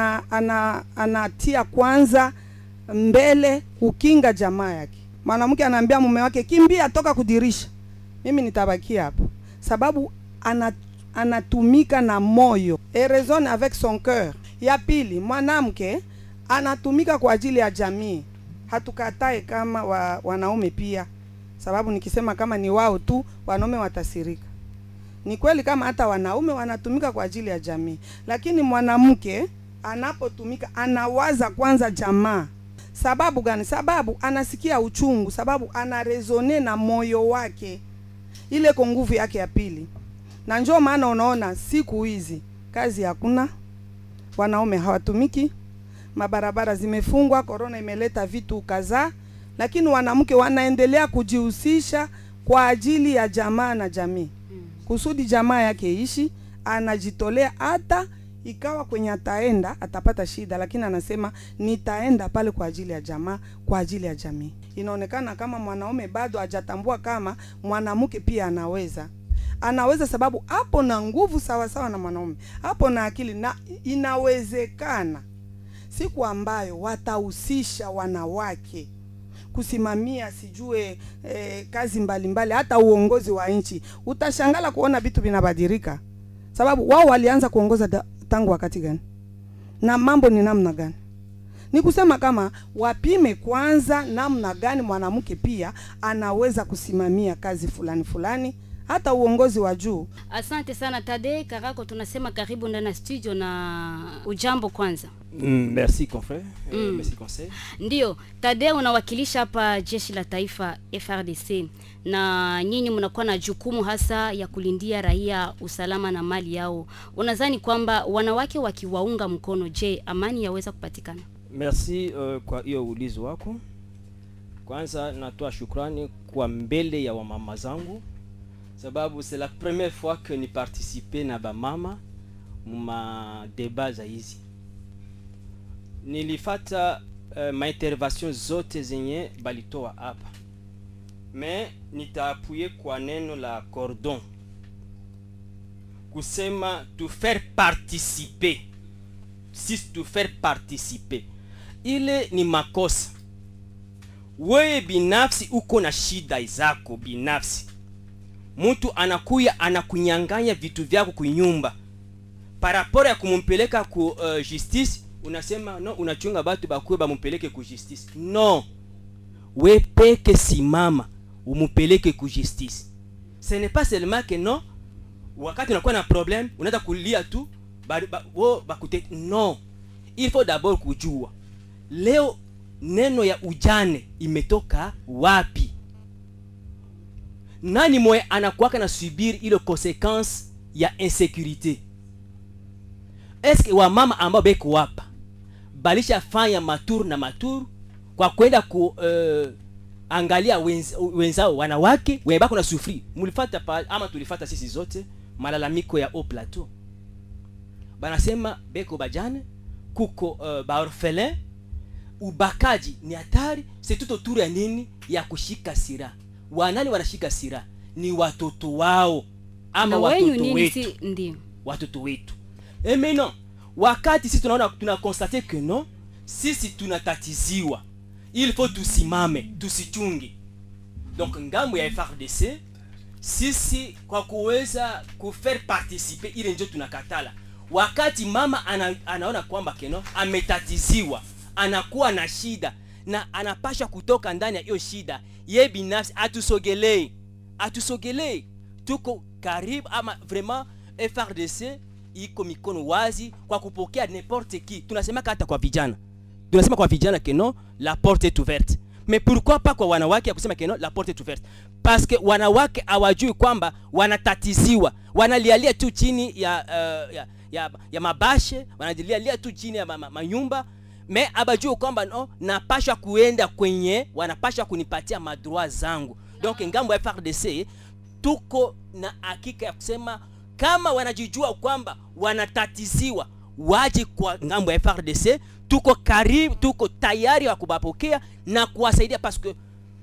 E: anatia kwanza mbele kukinga jamaa yake. Mwanamke anaambia mume wake kimbia, toka kudirisha, mimi nitabakia hapo, sababu anatumika na moyo, et raisonne avec son cœur. Ya pili, mwanamke anatumika kwa ajili ya jamii. Hatukatae kama wanaume pia, sababu nikisema kama ni wao tu wanaume watasirika. Ni kweli kama hata wanaume wanatumika kwa ajili ya jamii, lakini mwanamke anapotumika anawaza kwanza jamaa. Sababu gani? Sababu anasikia uchungu, sababu anarezone na moyo wake, ile kwa nguvu yake ya pili. Na njoo maana unaona siku hizi kazi hakuna, wanaume hawatumiki, mabarabara zimefungwa, corona imeleta vitu kadhaa, lakini wanawake wanaendelea kujihusisha kwa ajili ya jamaa na jamii. Kusudi jamaa yake ishi, anajitolea, hata ikawa kwenye ataenda atapata shida, lakini anasema nitaenda pale kwa ajili ya jamaa, kwa ajili ya jamii. Inaonekana kama mwanaume bado hajatambua kama mwanamke pia anaweza sababu hapo na nguvu sawa na mwanaume, hapo na akili, na inawezekana siku ambayo watahusisha wanawake kusimamia sijue kazi mbalimbali, hata uongozi wa nchi, utashangala kuona vitu vinabadilika. Sababu wao walianza kuongoza tangu wakati gani? Na mambo ni namna gani? Ni kusema kama wapime kwanza namna gani mwanamke pia anaweza kusimamia kazi fulani,
L: hata uongozi wa juu.
A: Asante sana Tade Karako, tunasema karibu ndani ya studio na ujambo kwanza.
M: Merci confrère. Merci conseil.
A: Ndio, Tade unawakilisha hapa jeshi la taifa FRDC na nyinyi mnakuwa na jukumu hasa ya kulindia raia usalama na mali yao. Unadhani kwamba wanawake wakiwaunga mkono, je, amani yaweza kupatikana?
M: Merci kwa hiyo ulizo wako. Kwanza natoa shukrani kwa mbele ya wamama zangu, sababu c'est la première fois que ni participer na ba mama ma débat za hizi. Nilifata ma intervention zote zenye balitoa hapa, mais nitaapuye kwa neno la cordon, kusema tu faire participer. Si tu faire participer, ile ni makosa. Wewe binafsi uko na shida zako binafsi, mtu anakuya anakunyanganya vitu vyako kunyumba, parapora ya kumumpeleka ku justice, unasema no, unachunga batu bakuwe bamumpeleke ku justice. No, we peke simama umupeleke ku justice. Ce n'est pas seulement que non, wakati unakuwa na problème unaanza kulia tu bakute. No, il faut d'abord kujua leo neno ya ujane imetoka wapi. Nani moye anakuwaka na subiri ile consequence ya insécurité? Est-ce que wa mama ambao beko wapa balisha fanya maturu na maturu kwa kwenda ku angalia wenzao wanawake webako na sufri? Mulifata pa ama tulifata sisi zote malalamiko ya Haut Plateau, banasema beko bajane kuko ba orphelin, ubakaji ni hatari. C'est tout autour ya nini? Ya kushika sira. Wanani wanashika sira? Ni watoto wao ama watoto wetu.
A: Ndio
M: watoto wetu. Mais non, wakati sisi tunaona tunakonstate que non, sisi tunatatiziwa, il faut tusimame tusichunge. Donc ngambo ya FRDC sisi kwa kuweza kufaire participer ile ndio tunakatala. Wakati mama anaona kwamba keno ametatiziwa, anakuwa na shida na anapasha kutoka ndani ya hiyo shida, ye binafsi atusogelee. Tuko karibu ama vraiment FRDC iko mikono wazi kwa kupokea n'importe qui. Tunasema hata kwa vijana. Tunasema kwa vijana keno la porte est ouverte. Mais pourquoi pas kwa wanawake ya kusema keno la porte est ouverte? Parce que wanawake hawajui kwamba wanatatiziwa, wanalialia tu chini ya mabashe, wanalialia tu chini ya manyumba, mais abajui kwamba no, napasha kuenda kwenye wanapasha kunipatia madroit zangu. Donc ngambo ya FRDC tuko na hakika ya kusema kama wanajijua kwamba wanatatiziwa, waje kwa ngambo ya FRDC. Tuko karibu, tuko tayari wa kubapokea na kuwasaidia, parce que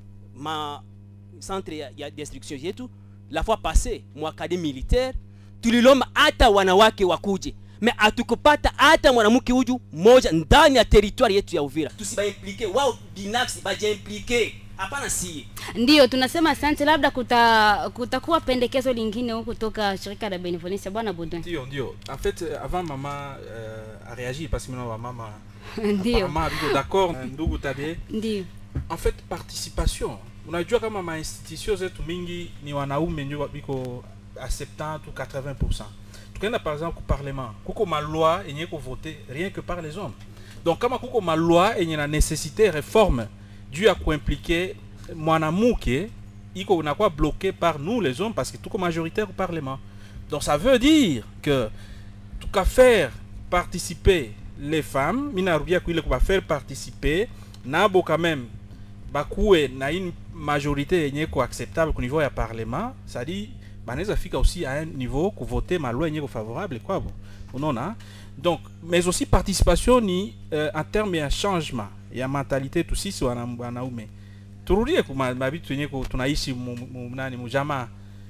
M: ma centre ya destruction yetu la fois passée mu académie militaire tuliloma hata wanawake wakuje, mais atukupata hata mwanamke huju moja ndani ya territoire yetu ya Uvira. Tusiba impliquer wao binafsi, baje impliquer hapana si.
A: Ndio tunasema asante. Labda kutakuwa pendekezo lingine huko kutoka shirika la Benevolencia, bwana Baudouin?
F: Ndio. En fait avant mama a réagi parce que maintenant mama
A: ndio
F: mama biko d'accord ndugu Tade.
A: Ndio.
F: En fait participation, unajua kama ma institutions zetu mingi ni wanaume ndio biko à 70 ou 80%. Tukaenda par exemple au parlement, kuko ma loi yenye ko voter rien que par les hommes. Donc kama kuko ma loi yenye na nécessité réforme dû à impliquer mwanamke iko unakuwa bloqué par nous les hommes parce que tuko majoritaire au parlement. Donc ça veut dire que tout qu'à faire participer les femmes, minarudia kuile kwa faire participer nabo quand même bakuwe na une majorité yenye ko acceptable au niveau ya parlement, ça dit banaweza fika aussi à un niveau ku voter ma loi yenye ko favorable quoi bon. Unaona? Donc mais aussi participation ni en termes ya changement ya mentalité tu sisi wanaume. Turudie kwa mabitu yenye tunaishi nani mjamaa.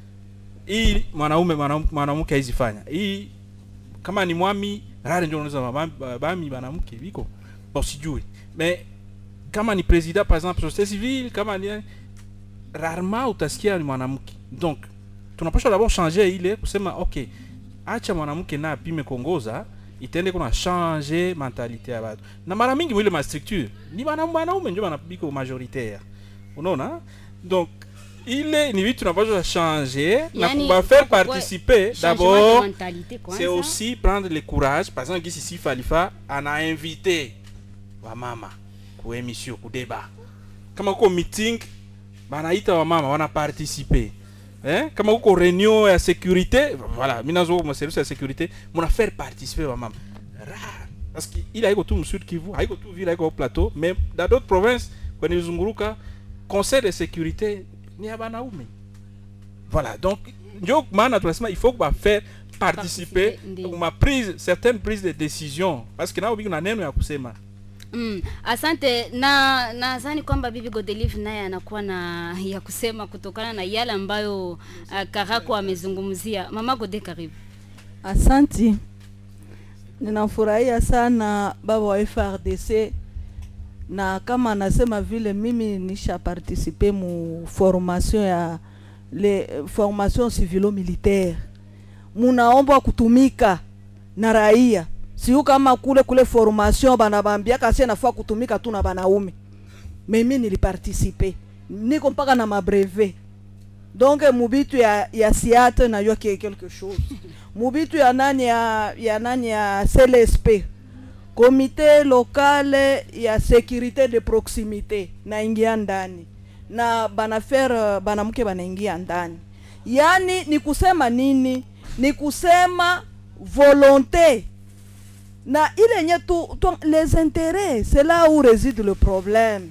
F: Hii mwanamke haizifanya. Hii kama ni mwami rare ndio unaweza bami mwanamke biko. Bon sijui. Mais kama ni président par exemple société civile, kama ni rarement utasikia ni mwanamke. Donc tunapaswa d'abord changer ile kusema okay, acha mwanamke na apime kongoza itende kuna changer mentalité ya watu. Na mara mingi mwile ma structure ni wanaume ndio wanabiko majoritaire. Unaona? Donc ile ni vitu tunapaswa changer na
A: Yani,
F: kuba faire participer d'abord. C'est
A: kwanza.
F: aussi prendre le courage. Par exemple, ici Falifa ana invité wa mama ku émission ku débat. Kama ko meeting banaita wa mama wana participer. Kama uko réunion ya sécurité, voilà, minazo mo service ya sécurité, mona faire participer wa mama. Rare. Parce qu'il a iko tout Sud Kivu, haiko tout ville haiko plateau, mais dans d'autres provinces kwa nizunguruka conseil de sécurité ni ya banaume. Voilà, donc ndio maana tunasema il faut faire participer ma prise certaines prises de décision parce que nao biko na neno ya kusema.
A: Asante na nadhani kwamba Bibi Godelive naye anakuwa na ya kusema kutokana na yale ambayo Karako amezungumzia. Mama Gode, karibu.
E: Asante. Ninafurahia sana baba wa FRDC, na kama anasema vile mimi nisha participer mu formation ya formation civilo-militaire. Munaomba kutumika na raia. Siyo kama kule formation banabambia kasi nafaa kutumika tu na banaume. Mimi niliparticiper. Niko mpaka na mabrevet. Donc mubitu ya siate na yo quelque chose. Mubitu ya nani ya CLSP. Comité local ya sécurité de proximité na ingia ndani. Na banamuke banaingia ndani. Yani ni kusema nini? Ni kusema volonté. Na ile nye les intérêts, c'est là où réside le problème.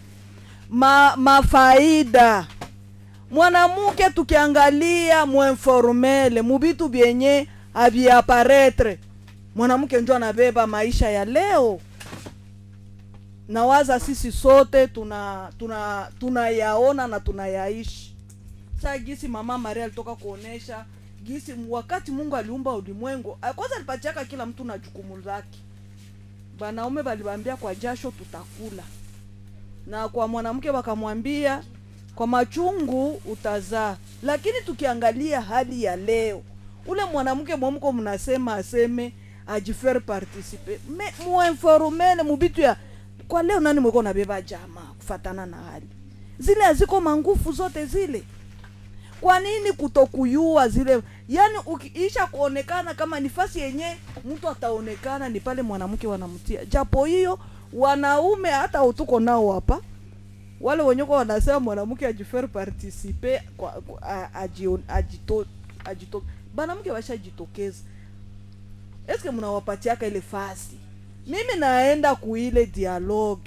E: Ma faida. Mwanamuke tukiangalia muinformele, mubitu bienye abiaparetre. Mwanamuke njo anabeba maisha ya leo. Nawaza sisi sote tunayaona na tunayaishi. Sasa gisi mama Maria alitoka kuonesha gisi wakati Mungu aliumba ulimwengu, kwanza alipatiaka kila mtu na jukumu lake. Banaume balibambia kwa jasho tutakula. Na kwa mwanamke wakamwambia kwa machungu utazaa. Lakini tukiangalia hali ya leo, ule mwanamke mwamko mnasema aseme ajifaire participer. Muinformele mubitu ya kwa leo nani mweko na beba jamaa kufatana na hali. Zile aziko mangufu zote zile. Kwa nini kutokuyua zile? Yani ukiisha kuonekana kama nifasi yenye mtu ataonekana ni pale mwanamke wanamtia. Japo hiyo wanaume hata utuko nao hapa. Wale wenye kwa wanasema mwanamke ajifaire participer ajito. Banamke washajitokeza. Eske mnawapatiaka ile fasi? Mimi naenda kuile dialogue.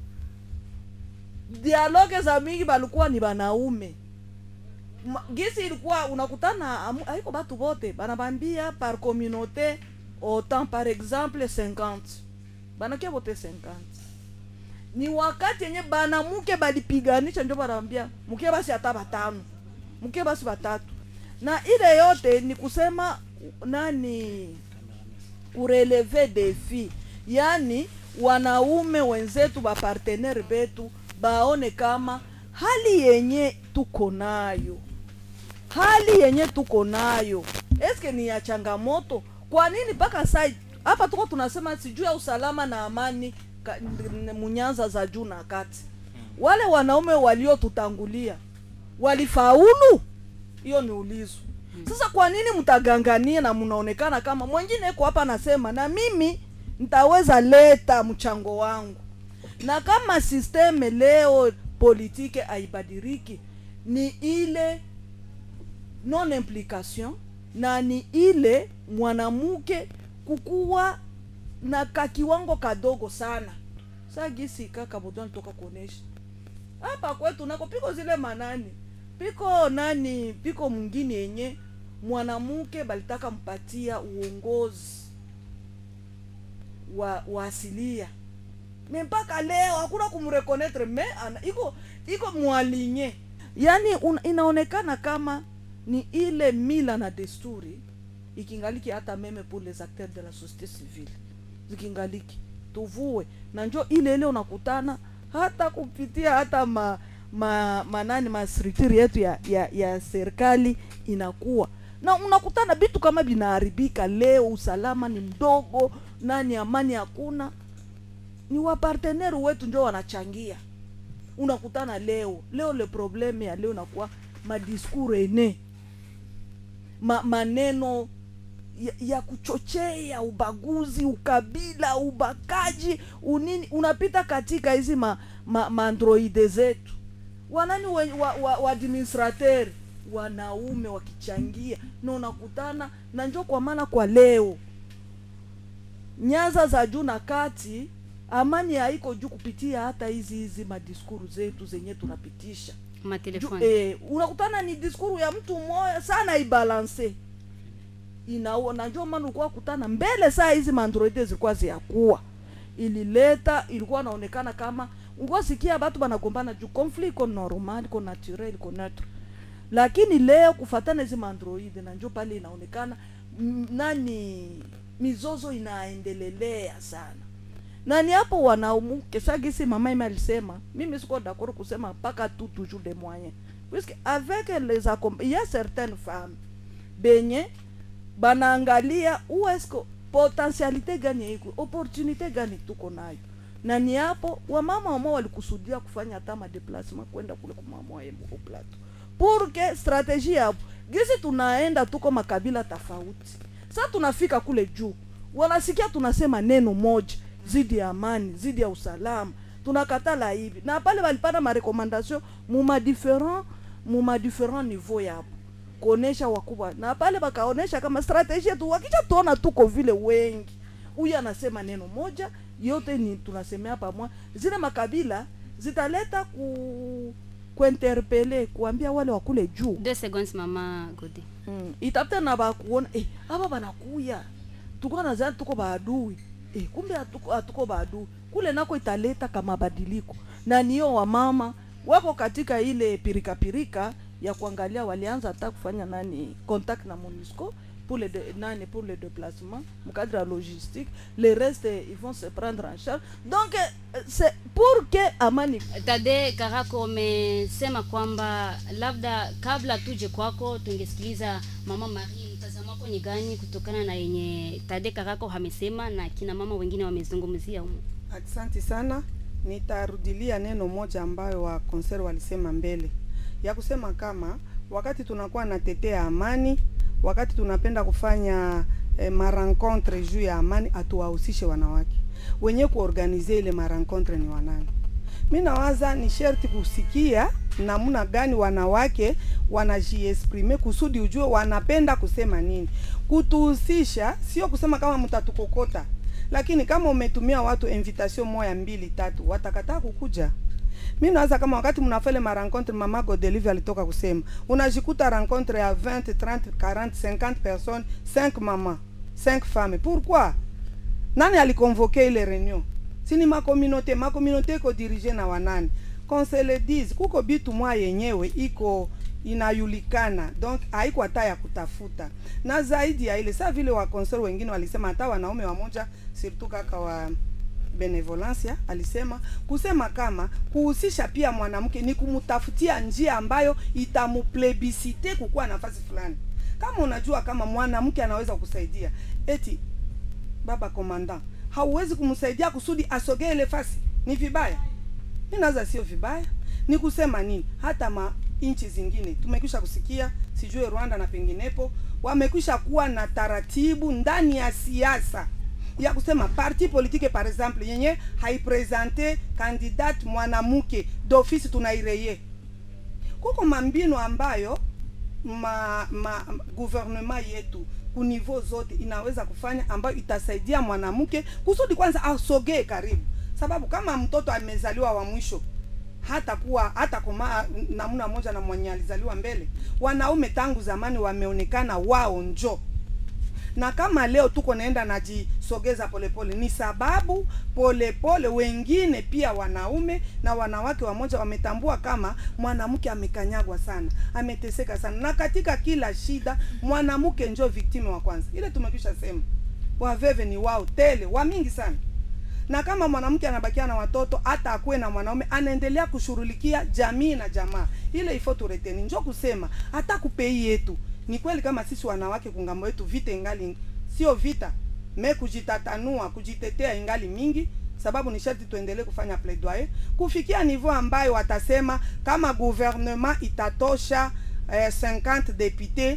E: Dialogue za mingi balikuwa ni banaume. Gisi ilikuwa unakutana haiko batu bote banabambia par communauté autant par exemple 50 banakia bote 50 ni wakati yenye banamuke balipiganisha ndio banabambia mke basi hata batano mke basi batatu na ile yote ni kusema nani kureleve défi yani wanaume wenzetu ba partenaire betu baone kama hali yenye tuko nayo eske ni ya changamoto. Kwa nini paka sasa hapa tuko tunasema sijui ya usalama na amani munyanza za juu na kati. Wale wanaume walio tutangulia walifaulu? Hiyo ni ulizo. Sasa kwa nini mtagangania na mnaonekana kama mwingine yuko hapa anasema na mimi nitaweza leta mchango wangu. Na kama systeme leo politike haibadiliki ni ile non implication na ni ile mwanamuke kukuwa na kakiwango kadogo sana. Sasa gisi kaka Bodon toka kuonesha hapa kwetu nako piko zile manani piko mwingine yenye mwanamuke balitaka mpatia uongozi wa asilia. Mpaka leo hakuna kumreconnaître iko mwalinye. Yani inaonekana kama ni ile mila na desturi ikingaliki hata meme pour les acteurs de la société civile. Zikingaliki tuvue na njoo ile unakutana hata kupitia hata ma structure yetu ya serikali inakuwa. Na unakutana bitu kama binaharibika leo, usalama ni mdogo, nani amani hakuna. Ni wa partenaire wetu ndio wanachangia. Unakutana leo le probleme ya leo nakuwa madiskuru ene maneno ya kuchochea ubaguzi, ukabila, ubakaji, unini, unapita katika hizi androide zetu. Wanani wa administrateur wanaume wakichangia, na unakutana na njoo. Kwa maana kwa leo nyanza za juu na kati, amani haiko juu kupitia hata hizi madiskuru zetu zenye tunapitisha
A: matelefoni.
E: Unakutana ni diskuru ya mtu mmoja sana ibalance inaona. Njoo maana ulikuwa kutana mbele saa hizi mandroide zilikuwa ziakuwa ilikuwa naonekana kama ungosikia watu banagombana juu conflict iko normal, iko natural, iko neutral. Lakini leo kufatana hizi mandroide na njoo pale inaonekana mizozo inaendelelea sana. Na ni hapo wanaumu kesagisi mama ime alisema, mimi siko d'accord kusema paka toujours des moyens. Puisque avec les il y a certaines femmes benye banaangalia uesko potentialite gani iko, opportunité gani tuko nayo. Na ni hapo wamama ambao walikusudia kufanya hata ma déplacement kwenda kule kumamwa yemo au plateau. Pour que stratégie hapo gisi tunaenda tuko makabila tofauti. Sasa tunafika kule juu, wanasikia tunasema neno moja zidi ya amani, zidi ya usalama, tunakatala hivi. Na pale walipata ma recommandation mu different niveau yapo kuonesha wakubwa. Na pale bakaonesha kama strategy tu, wakija tuona tuko vile wengi, huyu anasema neno moja, yote ni tunasemea pamoja. Zile makabila zitaleta kuinterpeller, kuambia wale wakule juu.
A: 2 seconds mama Godi.
E: Itapita na bakuona hapa banakuya. Tuko na zani tuko baadui. Kumbe atuko badu kule nako italeta kama badiliko. Na niyo wa mama wako katika ile pirika ya kuangalia, walianza hata kufanya contact na MONUSCO pour le déplacement, mu cadre logistique. Les restes ils vont se prendre en charge. Donc c'est pour que amani.
A: Tade Karako umesema kwamba labda kabla tuje kwako tungesikiliza mama Marie, mtazamo wako ni gani kutokana na yenye Tade Karako amesema na kina mama wengine wamezungumzia huko?
L: Asante sana. Nitarudilia neno moja ambayo wa konser walisema mbele, ya kusema kama wakati tunakuwa na tetea amani, wakati tunapenda kufanya marencontre juu ya amani, atuwahusishe wanawake. Wenye kuorganize ile marencontre ni wanani? Mimi nawaza ni sherti kusikia namna gani wanawake wanajiexprime kusudi ujue wanapenda kusema nini. Kutuhusisha sio kusema kama mtatukokota, lakini kama umetumia watu invitation moja 2 3 watakataa kukuja. Mimi nawaza kama wakati mnafanya ma rencontre, mama Godelive alitoka kusema unajikuta rencontre ya 20 30 40 50 personnes, 5 mama 5 femmes. Pourquoi? Nani aliconvoquer ile réunion? Sini ma communauté ko dirige na wanani. Qu'on se le dise, kuko bitu mwa yenyewe iko inayulikana, donc haiko hata ya kutafuta. Na zaidi ya ile, sa vile wa konser wengine walisema, hata wanaume wamoja surtout kaka wa benevolencia alisema kusema kama kuhusisha pia mwanamke ni kumutafutia njia ambayo itamuplebisite kukuwa nafasi fulani. Kama unajua kama mwanamke anaweza kusaidia, eti baba commandant hauwezi kumsaidia kusudi asogee ile fasi, ni vibaya? Mimi naza sio vibaya. Ni kusema nini? Hata inchi zingine tumekwisha kusikia, sijue Rwanda na penginepo, wamekwisha kuwa na taratibu ndani ya siasa ya kusema parti politique par exemple yenye haipresente candidate mwanamke d'office tunaireye. Kuko mambino ambayo gouvernement yetu ku niveau zote inaweza kufanya ambayo itasaidia mwanamke kusudi kwanza asogee karibu. Sababu kama mtoto amezaliwa wa mwisho hata kama namna moja na mwenye alizaliwa mbele, wanaume tangu zamani wameonekana wao njo. Na kama leo tuko naenda najisogeza polepole, ni sababu polepole wengine pia wanaume na wanawake wamoja wametambua kama mwanamke amekanyagwa sana, ameteseka sana. Na katika kila shida mwanamke njo victime wa kwanza. Ile tumekwisha sema. Waveve ni wao tele, wa mingi sana. Na kama mwanamke anabakia na watoto, hata akue na mwanaume, anaendelea kushughulikia jamii na jamaa. Ile ifo tureteni. Njo kusema hata kupei yetu. Ni kweli kama sisi wanawake kungambo yetu vita ingali sio vita, kujitatanua, kujitetea ingali mingi, sababu ni sharti tuendelee kufanya plaidoyer kufikia niveau ambayo watasema kama gouvernement itatosha 50 députés,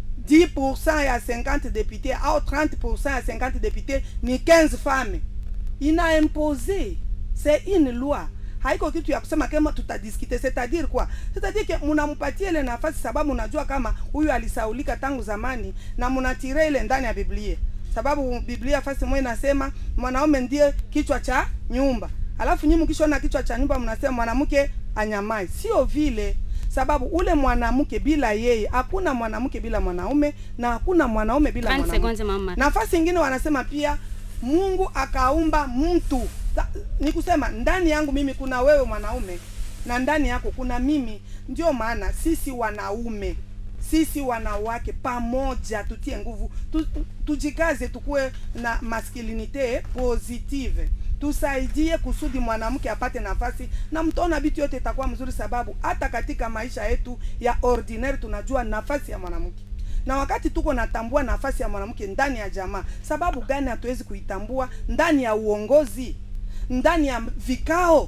L: 10% ya 50 députés au 30% ya 50 députés ni 15 femmes. Ina imposé, c'est une loi. Haiko kitu ya kusema kama tutadiskite, c'est-à-dire quoi? C'est-à-dire que munampatia ile nafasi sababu unajua kama huyu alisaulika tangu zamani na munatire ile ndani ya Biblia. Sababu Biblia fasi moja inasema mwanaume ndiye kichwa cha nyumba. Alafu nyinyi mkishona kichwa cha nyumba mnasema mwanamke anyamai. Sio vile. Sababu ule mwanamke bila yeye, hakuna mwanamke bila mwanaume na hakuna mwanaume bila mwanamke. Nafasi nyingine wanasema pia Mungu akaumba mtu. Ni kusema ndani yangu mimi kuna wewe mwanaume na ndani yako kuna mimi. Ndio maana sisi wanaume, sisi wanawake pamoja tutie nguvu, tujikaze tukue na masculinite positive. Tusaidie kusudi mwanamke apate nafasi na mtaona vitu yote itakuwa mzuri, sababu hata katika maisha yetu ya ordinaire tunajua nafasi ya mwanamke. Na wakati tuko natambua nafasi ya mwanamke ndani ya jamaa, sababu gani hatuwezi kuitambua ndani ya uongozi, ndani ya vikao,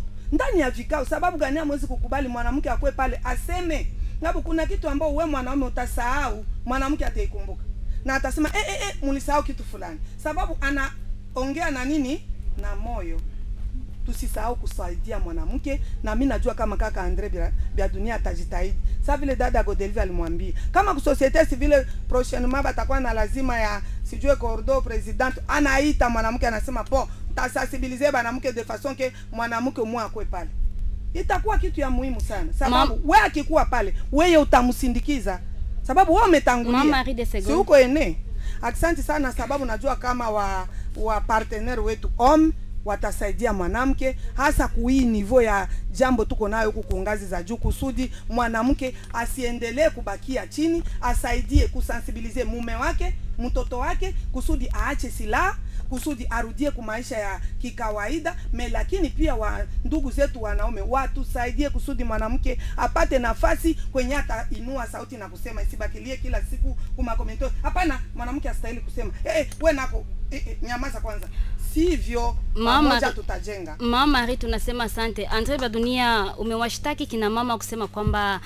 L: sababu gani hamwezi kukubali mwanamke akwe pale aseme? Ngapo kuna kitu ambao wewe mwanaume utasahau, mwanamke ataikumbuka. Na atasema mlisahau kitu fulani. Sababu anaongea na nini? Na moyo. Tusisahau kusaidia mwanamke, na mimi najua kama kaka Andre bia dunia atajitahidi. Sasa vile dada Godelive alimwambia, kama ku societe civile prochainement batakuwa na lazima ya sijue cordo president, anaita mwanamke anasema po tasensibiliser mwanamke de façon que mwanamke mwa akwe pale. Itakuwa kitu ya muhimu sana. Sababu wewe akikuwa pale, wewe utamsindikiza. Sababu wewe umetangulia. Si uko ene. Asante sana sababu najua kama wa partenaire wetu watasaidia mwanamke hasa kui niveau ya jambo tuko nayo huku kwa ngazi za juu, kusudi mwanamke asiendelee kubakia chini, asaidie kusensibilize mume wake, mtoto wake, kusudi aache silaha, kusudi arudie kwa maisha ya kikawaida. Lakini pia ndugu zetu wanaume watusaidie kusudi mwanamke apate nafasi kwenye hata inua sauti na kusema, isibakilie kila siku kuma comment. Hapana, mwanamke astahili kusema wewe nako nyamaza kwanza. Sivyo pamoja tutajenga.
A: Mama Marie, tunasema asante. Andre Badunia, umewashtaki kina mama kusema kwamba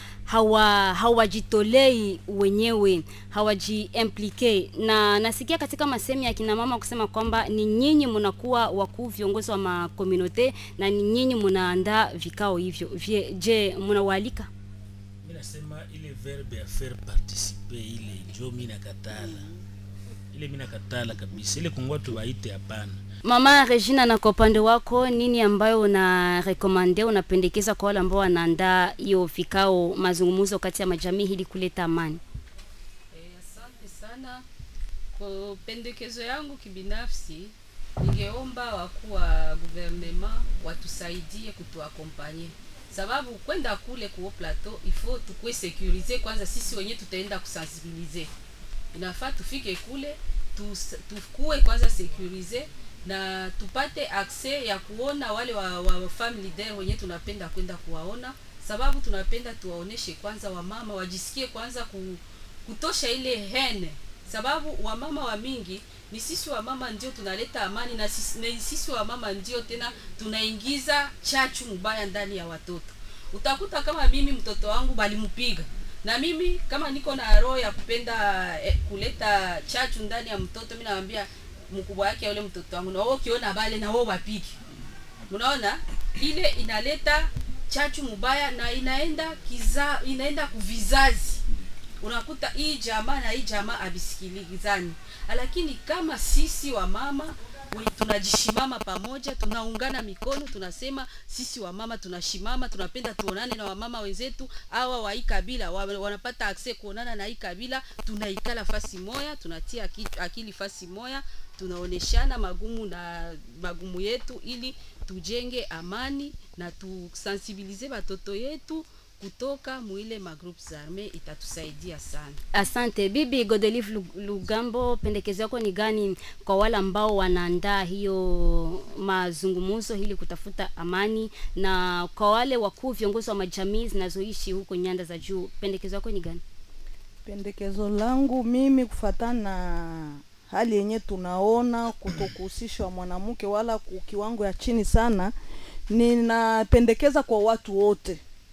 A: hawajitolei wenyewe, hawajiimplike. Na nasikia katika masemi ya kina mama kusema kwamba ni nyinyi mnakuwa wakuu viongozi wa makomunote na ni nyinyi mnaandaa vikao hivyo. Je, mnawaalika?
B: Mimi nasema ile verbe ya faire participer ile ndio mimi nakatala. Ile mimi nakatala kabisa. Ile kungwa tu waite hapana.
A: Mama Regina, na kwa upande wako nini ambayo una recommend, unapendekeza kwa wale ambao wanaandaa hiyo vikao mazungumzo kati ya majamii ili kuleta amani?
C: Asante sana. Kwa pendekezo yangu kibinafsi, ningeomba wakuu wa gouvernement watusaidie kutuakompanye. Sababu kwenda kule kwa plateau il faut tukue sécuriser kwanza, sisi wenyewe tutaenda kusensibiliser. Inafaa tufike kule tukue kwanza sécuriser na tupate accès ya kuona wale wa family leader wenye tunapenda kwenda kuwaona, sababu tunapenda tuwaoneshe kwanza wamama wajisikie kwanza kutosha ile hene, sababu wamama wa mingi ni sisi wamama ndio tunaleta amani, na sisi wamama ndio tena tunaingiza chachu mbaya ndani ya watoto. Utakuta kama mimi mtoto wangu balimpiga, na mimi kama niko na roho ya kupenda kuleta chachu ndani ya mtoto, mimi naambia mkubwa yake yule mtoto wangu, na wao kiona bale na wao wapiki. Unaona ile inaleta chachu mbaya na inaenda kuvizazi. Unakuta hii jamaa na hii jamaa abisikilizani. Lakini kama sisi wa mama tunajishimama pamoja, tunaungana mikono, tunasema sisi wa mama tunashimama, tunapenda tuonane na wamama wenzetu hawa wa hii kabila wanapata access kuonana na hii kabila, tunaikala fasi moja, tunatia akili fasi moja, tunaoneshana magumu yetu ili tujenge amani na tusensibilize watoto yetu kutoka muile magroups arme, itatusaidia sana.
A: Asante. Bibi Godelive Lugambo, pendekezo yako ni gani kwa wale ambao wanaandaa hiyo mazungumzo ili kutafuta amani, na kwa wale wakuu viongozi wa majamii zinazoishi huko nyanda za juu, pendekezo yako ni gani?
E: Pendekezo langu mimi kufatana na hali yenye tunaona kutokuhusishwa mwanamke wala kiwango ya chini sana, ninapendekeza kwa watu wote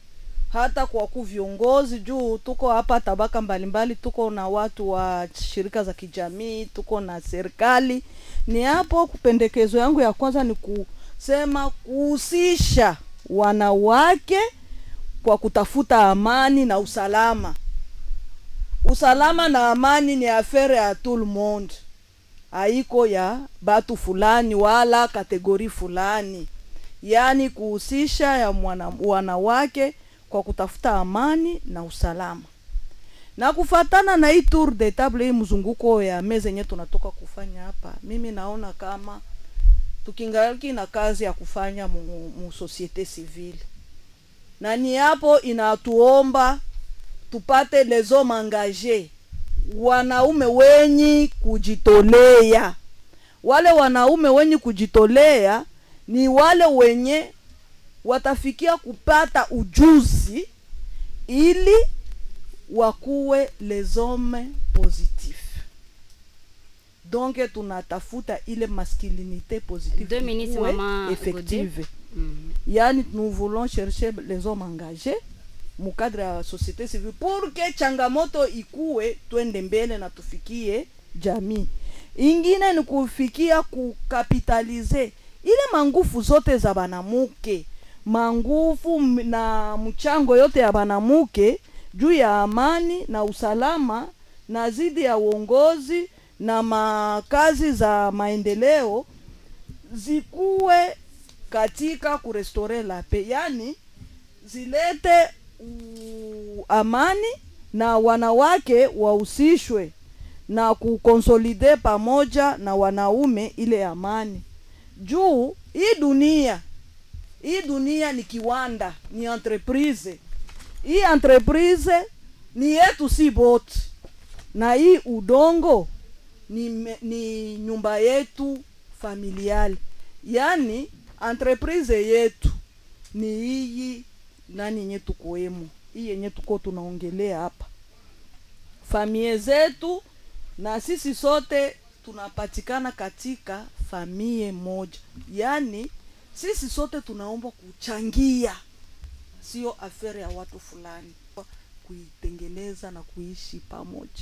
E: hata kwa viongozi juu tuko hapa tabaka mbalimbali, tuko na watu wa shirika za kijamii, tuko na serikali. Ni hapo kupendekezo yangu ya kwanza ni kusema kuhusisha wanawake kwa kutafuta amani na usalama. Usalama na amani ni affaire ya tout le monde, haiko ya batu fulani wala kategori fulani. Yani kuhusisha ya wanawake kwa kutafuta amani na usalama. Na kufatana na hii tour de table, hii mzunguko ya meza yenyewe tunatoka kufanya hapa, mimi naona kama tukingaliki na kazi ya kufanya mu societe civile. Na ni hapo inatuomba tupate les hommes engagés, wanaume wenye kujitolea. Wale wanaume wenye kujitolea ni wale wenye watafikia kupata ujuzi ili wakuwe les hommes positifs. Donc tunatafuta ile masculinité positive effective. Yani nous voulons chercher les hommes engagés mu cadre ya société civile pour que changamoto ikue twende mbele na tufikie jamii. Ingine ni kufikia kukapitalize ile mangufu zote za banamuke, mangufu na mchango yote ya banamuke juu ya amani na usalama na zidi ya uongozi na makazi za maendeleo zikuwe katika kurestore la paix, yani zilete amani na wanawake wahusishwe na kukonsolide pamoja na wanaume ile amani. Juu hii dunia ni kiwanda, ni entreprise. Hii entreprise ni yetu si bote, na hii udongo ni nyumba yetu familiali. Yani entreprise yetu ni hii nani yenye tukoemo, hii yenye tuko tunaongelea hapa, familia zetu, na sisi sote tunapatikana katika familia moja. Yani sisi sote tunaomba kuchangia, sio affaire ya watu fulani, kuitengeneza na kuishi pamoja.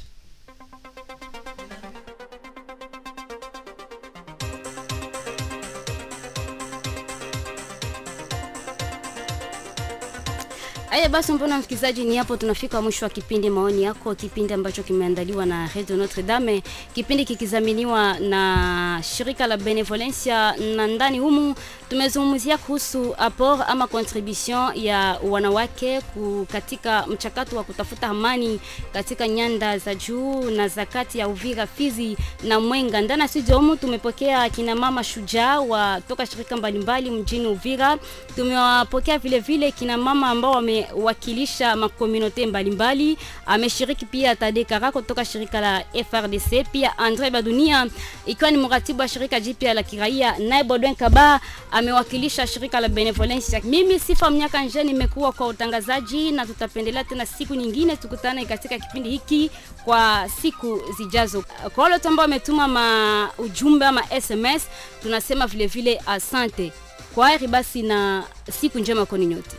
A: Aya basi, mbona msikizaji, ni hapo tunafika mwisho wa kipindi maoni yako, kipindi ambacho kimeandaliwa na Radio Notre Dame, kipindi kikizaminiwa na shirika la Benevolencia, na ndani humu tumezungumzia kuhusu apport ama contribution ya wanawake katika mchakato wa kutafuta amani katika nyanda za juu na zakati ya Uvira, Fizi na Mwenga. Ndani ya studio humu tumepokea kina mama shujaa wa toka shirika mbalimbali mjini Uvira. Tumewapokea vile vile kina mama ambao wamewakilisha makomunote mbalimbali. Ameshiriki pia Tade Karako kutoka shirika la FRDC, pia Andre Badunia ikiwa ni mratibu wa shirika jipya la kiraia, naye Baudouin Kaba amewakilisha shirika la Benevolencia. Mimi Sifa Mnyaka Nje nimekuwa kwa utangazaji, na tutapendelea tena siku nyingine tukutane katika kipindi hiki kwa siku zijazo. Kwa wale ambao wametuma ujumbe ama SMS, tunasema vile vile asante. Kwa heri basi na siku njema kwa nyote.